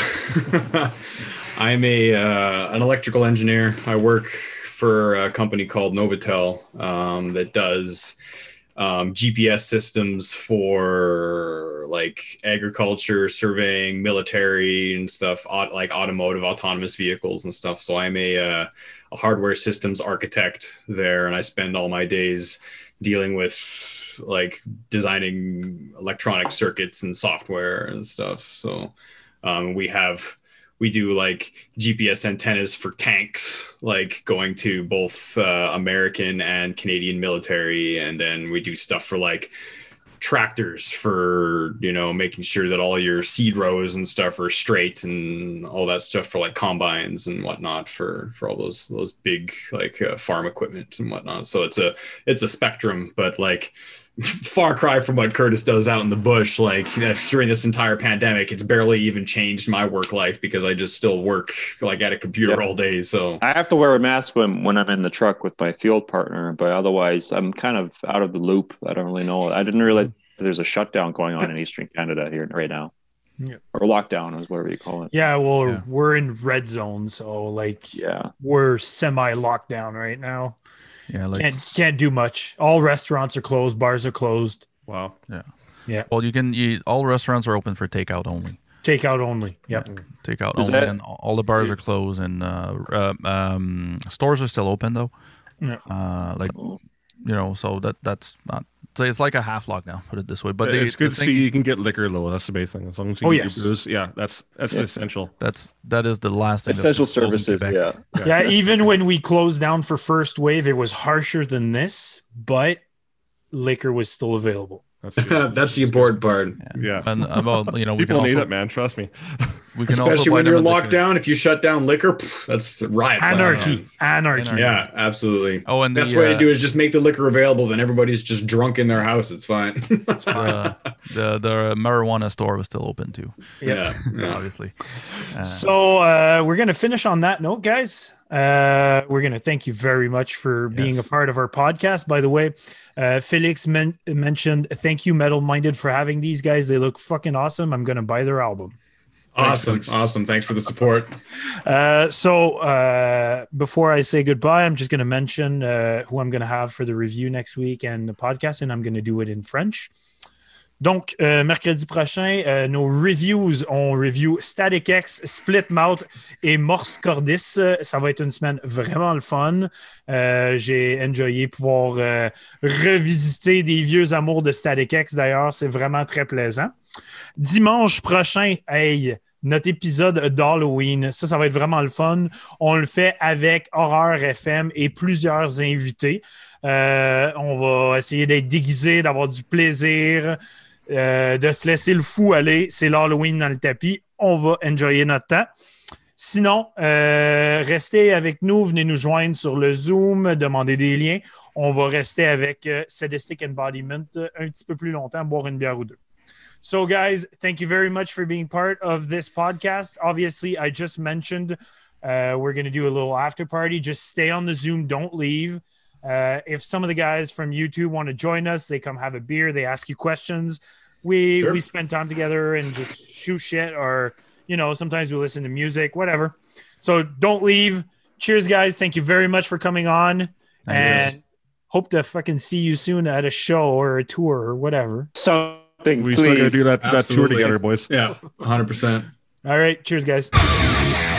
I'm an electrical engineer. I work for a company called Novatel that does GPS systems for like agriculture, surveying, military and stuff, like automotive, autonomous vehicles and stuff. So I'm a hardware systems architect there, and I spend all my days dealing with like designing electronic circuits and software and stuff. So we do like GPS antennas for tanks, like going to both American and Canadian military. And then we do stuff for like tractors for, making sure that all your seed rows and stuff are straight and all that stuff for like combines and whatnot for all those big like farm equipment and whatnot. So it's a spectrum, but like far cry from what Curtis does out in the bush. Like during this entire pandemic, it's barely even changed my work life because I just still work like at a computer all day. So I have to wear a mask when I'm in the truck with my field partner, but otherwise I'm kind of out of the loop. I don't really know. I didn't realize there's a shutdown going on in Eastern Canada here right now. Yeah. Or lockdown is whatever you call it. Yeah, well, we're in red zone, so like we're semi lockdown right now. Yeah, like can't do much. All restaurants are closed, bars are closed. wow. Well, all restaurants are open for takeout only. Takeout only. Yep. Takeout Is only, that- and all the bars are closed, and stores are still open though. Yeah. So that's not. So it's like a half lockdown, put it this way. But It's good the to see you can get liquor though. That's the base thing. As long as you Oh, get yes. your booze, that's essential. that is the last thing. Essential that's closed in services. Quebec. Yeah. Yeah, even when we closed down for first wave, it was harsher than this, but liquor was still available. That's good. That's the important part. Yeah. And we can People need also it, man. Trust me. we can also Especially buy when them you're at locked liquor- down. If you shut down liquor, that's riot. Anarchy. signs. Anarchy. Yeah, absolutely. Oh, and Best way to do is just make the liquor available. Then everybody's just drunk in their house. It's fine. the marijuana store was still open too, Yeah. obviously. So we're going to finish on that note, guys. We're going to thank you very much for being a part of our podcast. By the way, Felix mentioned thank you, Metal Minded, for having these guys. They look fucking awesome. I'm going to buy their album. Awesome. Thanks for the support. So before I say goodbye, I'm just going to mention who I'm going to have for the review next week and the podcast, and I'm going to do it in French. Donc, mercredi prochain, nos reviews, on review Static X, Split Mouth et Morse Cordis. Ça va être une semaine vraiment le fun. J'ai enjoyé pouvoir revisiter des vieux amours de Static X. D'ailleurs, c'est vraiment très plaisant. Dimanche prochain, notre épisode d'Halloween, ça va être vraiment le fun. On le fait avec Horreur FM et plusieurs invités. On va essayer d'être déguisés, d'avoir du plaisir, de se laisser le fou aller. C'est l'Halloween dans le tapis. On va enjoyer notre temps. Sinon, restez avec nous. Venez nous joindre sur le Zoom, demandez des liens. On va rester avec Sadistic Embodiment un petit peu plus longtemps, boire une bière ou deux. So, guys, thank you very much for being part of this podcast. Obviously, I just mentioned we're going to do a little after party. Just stay on the Zoom. Don't leave. If some of the guys from YouTube want to join us, they come have a beer. They ask you questions. We spend time together and just shoot shit, or sometimes we listen to music, whatever. So don't leave. Cheers, guys. Thank you very much for coming on, and hope to fucking see you soon at a show or a tour or whatever. Something. We please. still got to do that tour Absolutely. together, boys. Yeah, 100%. All right. Cheers, guys.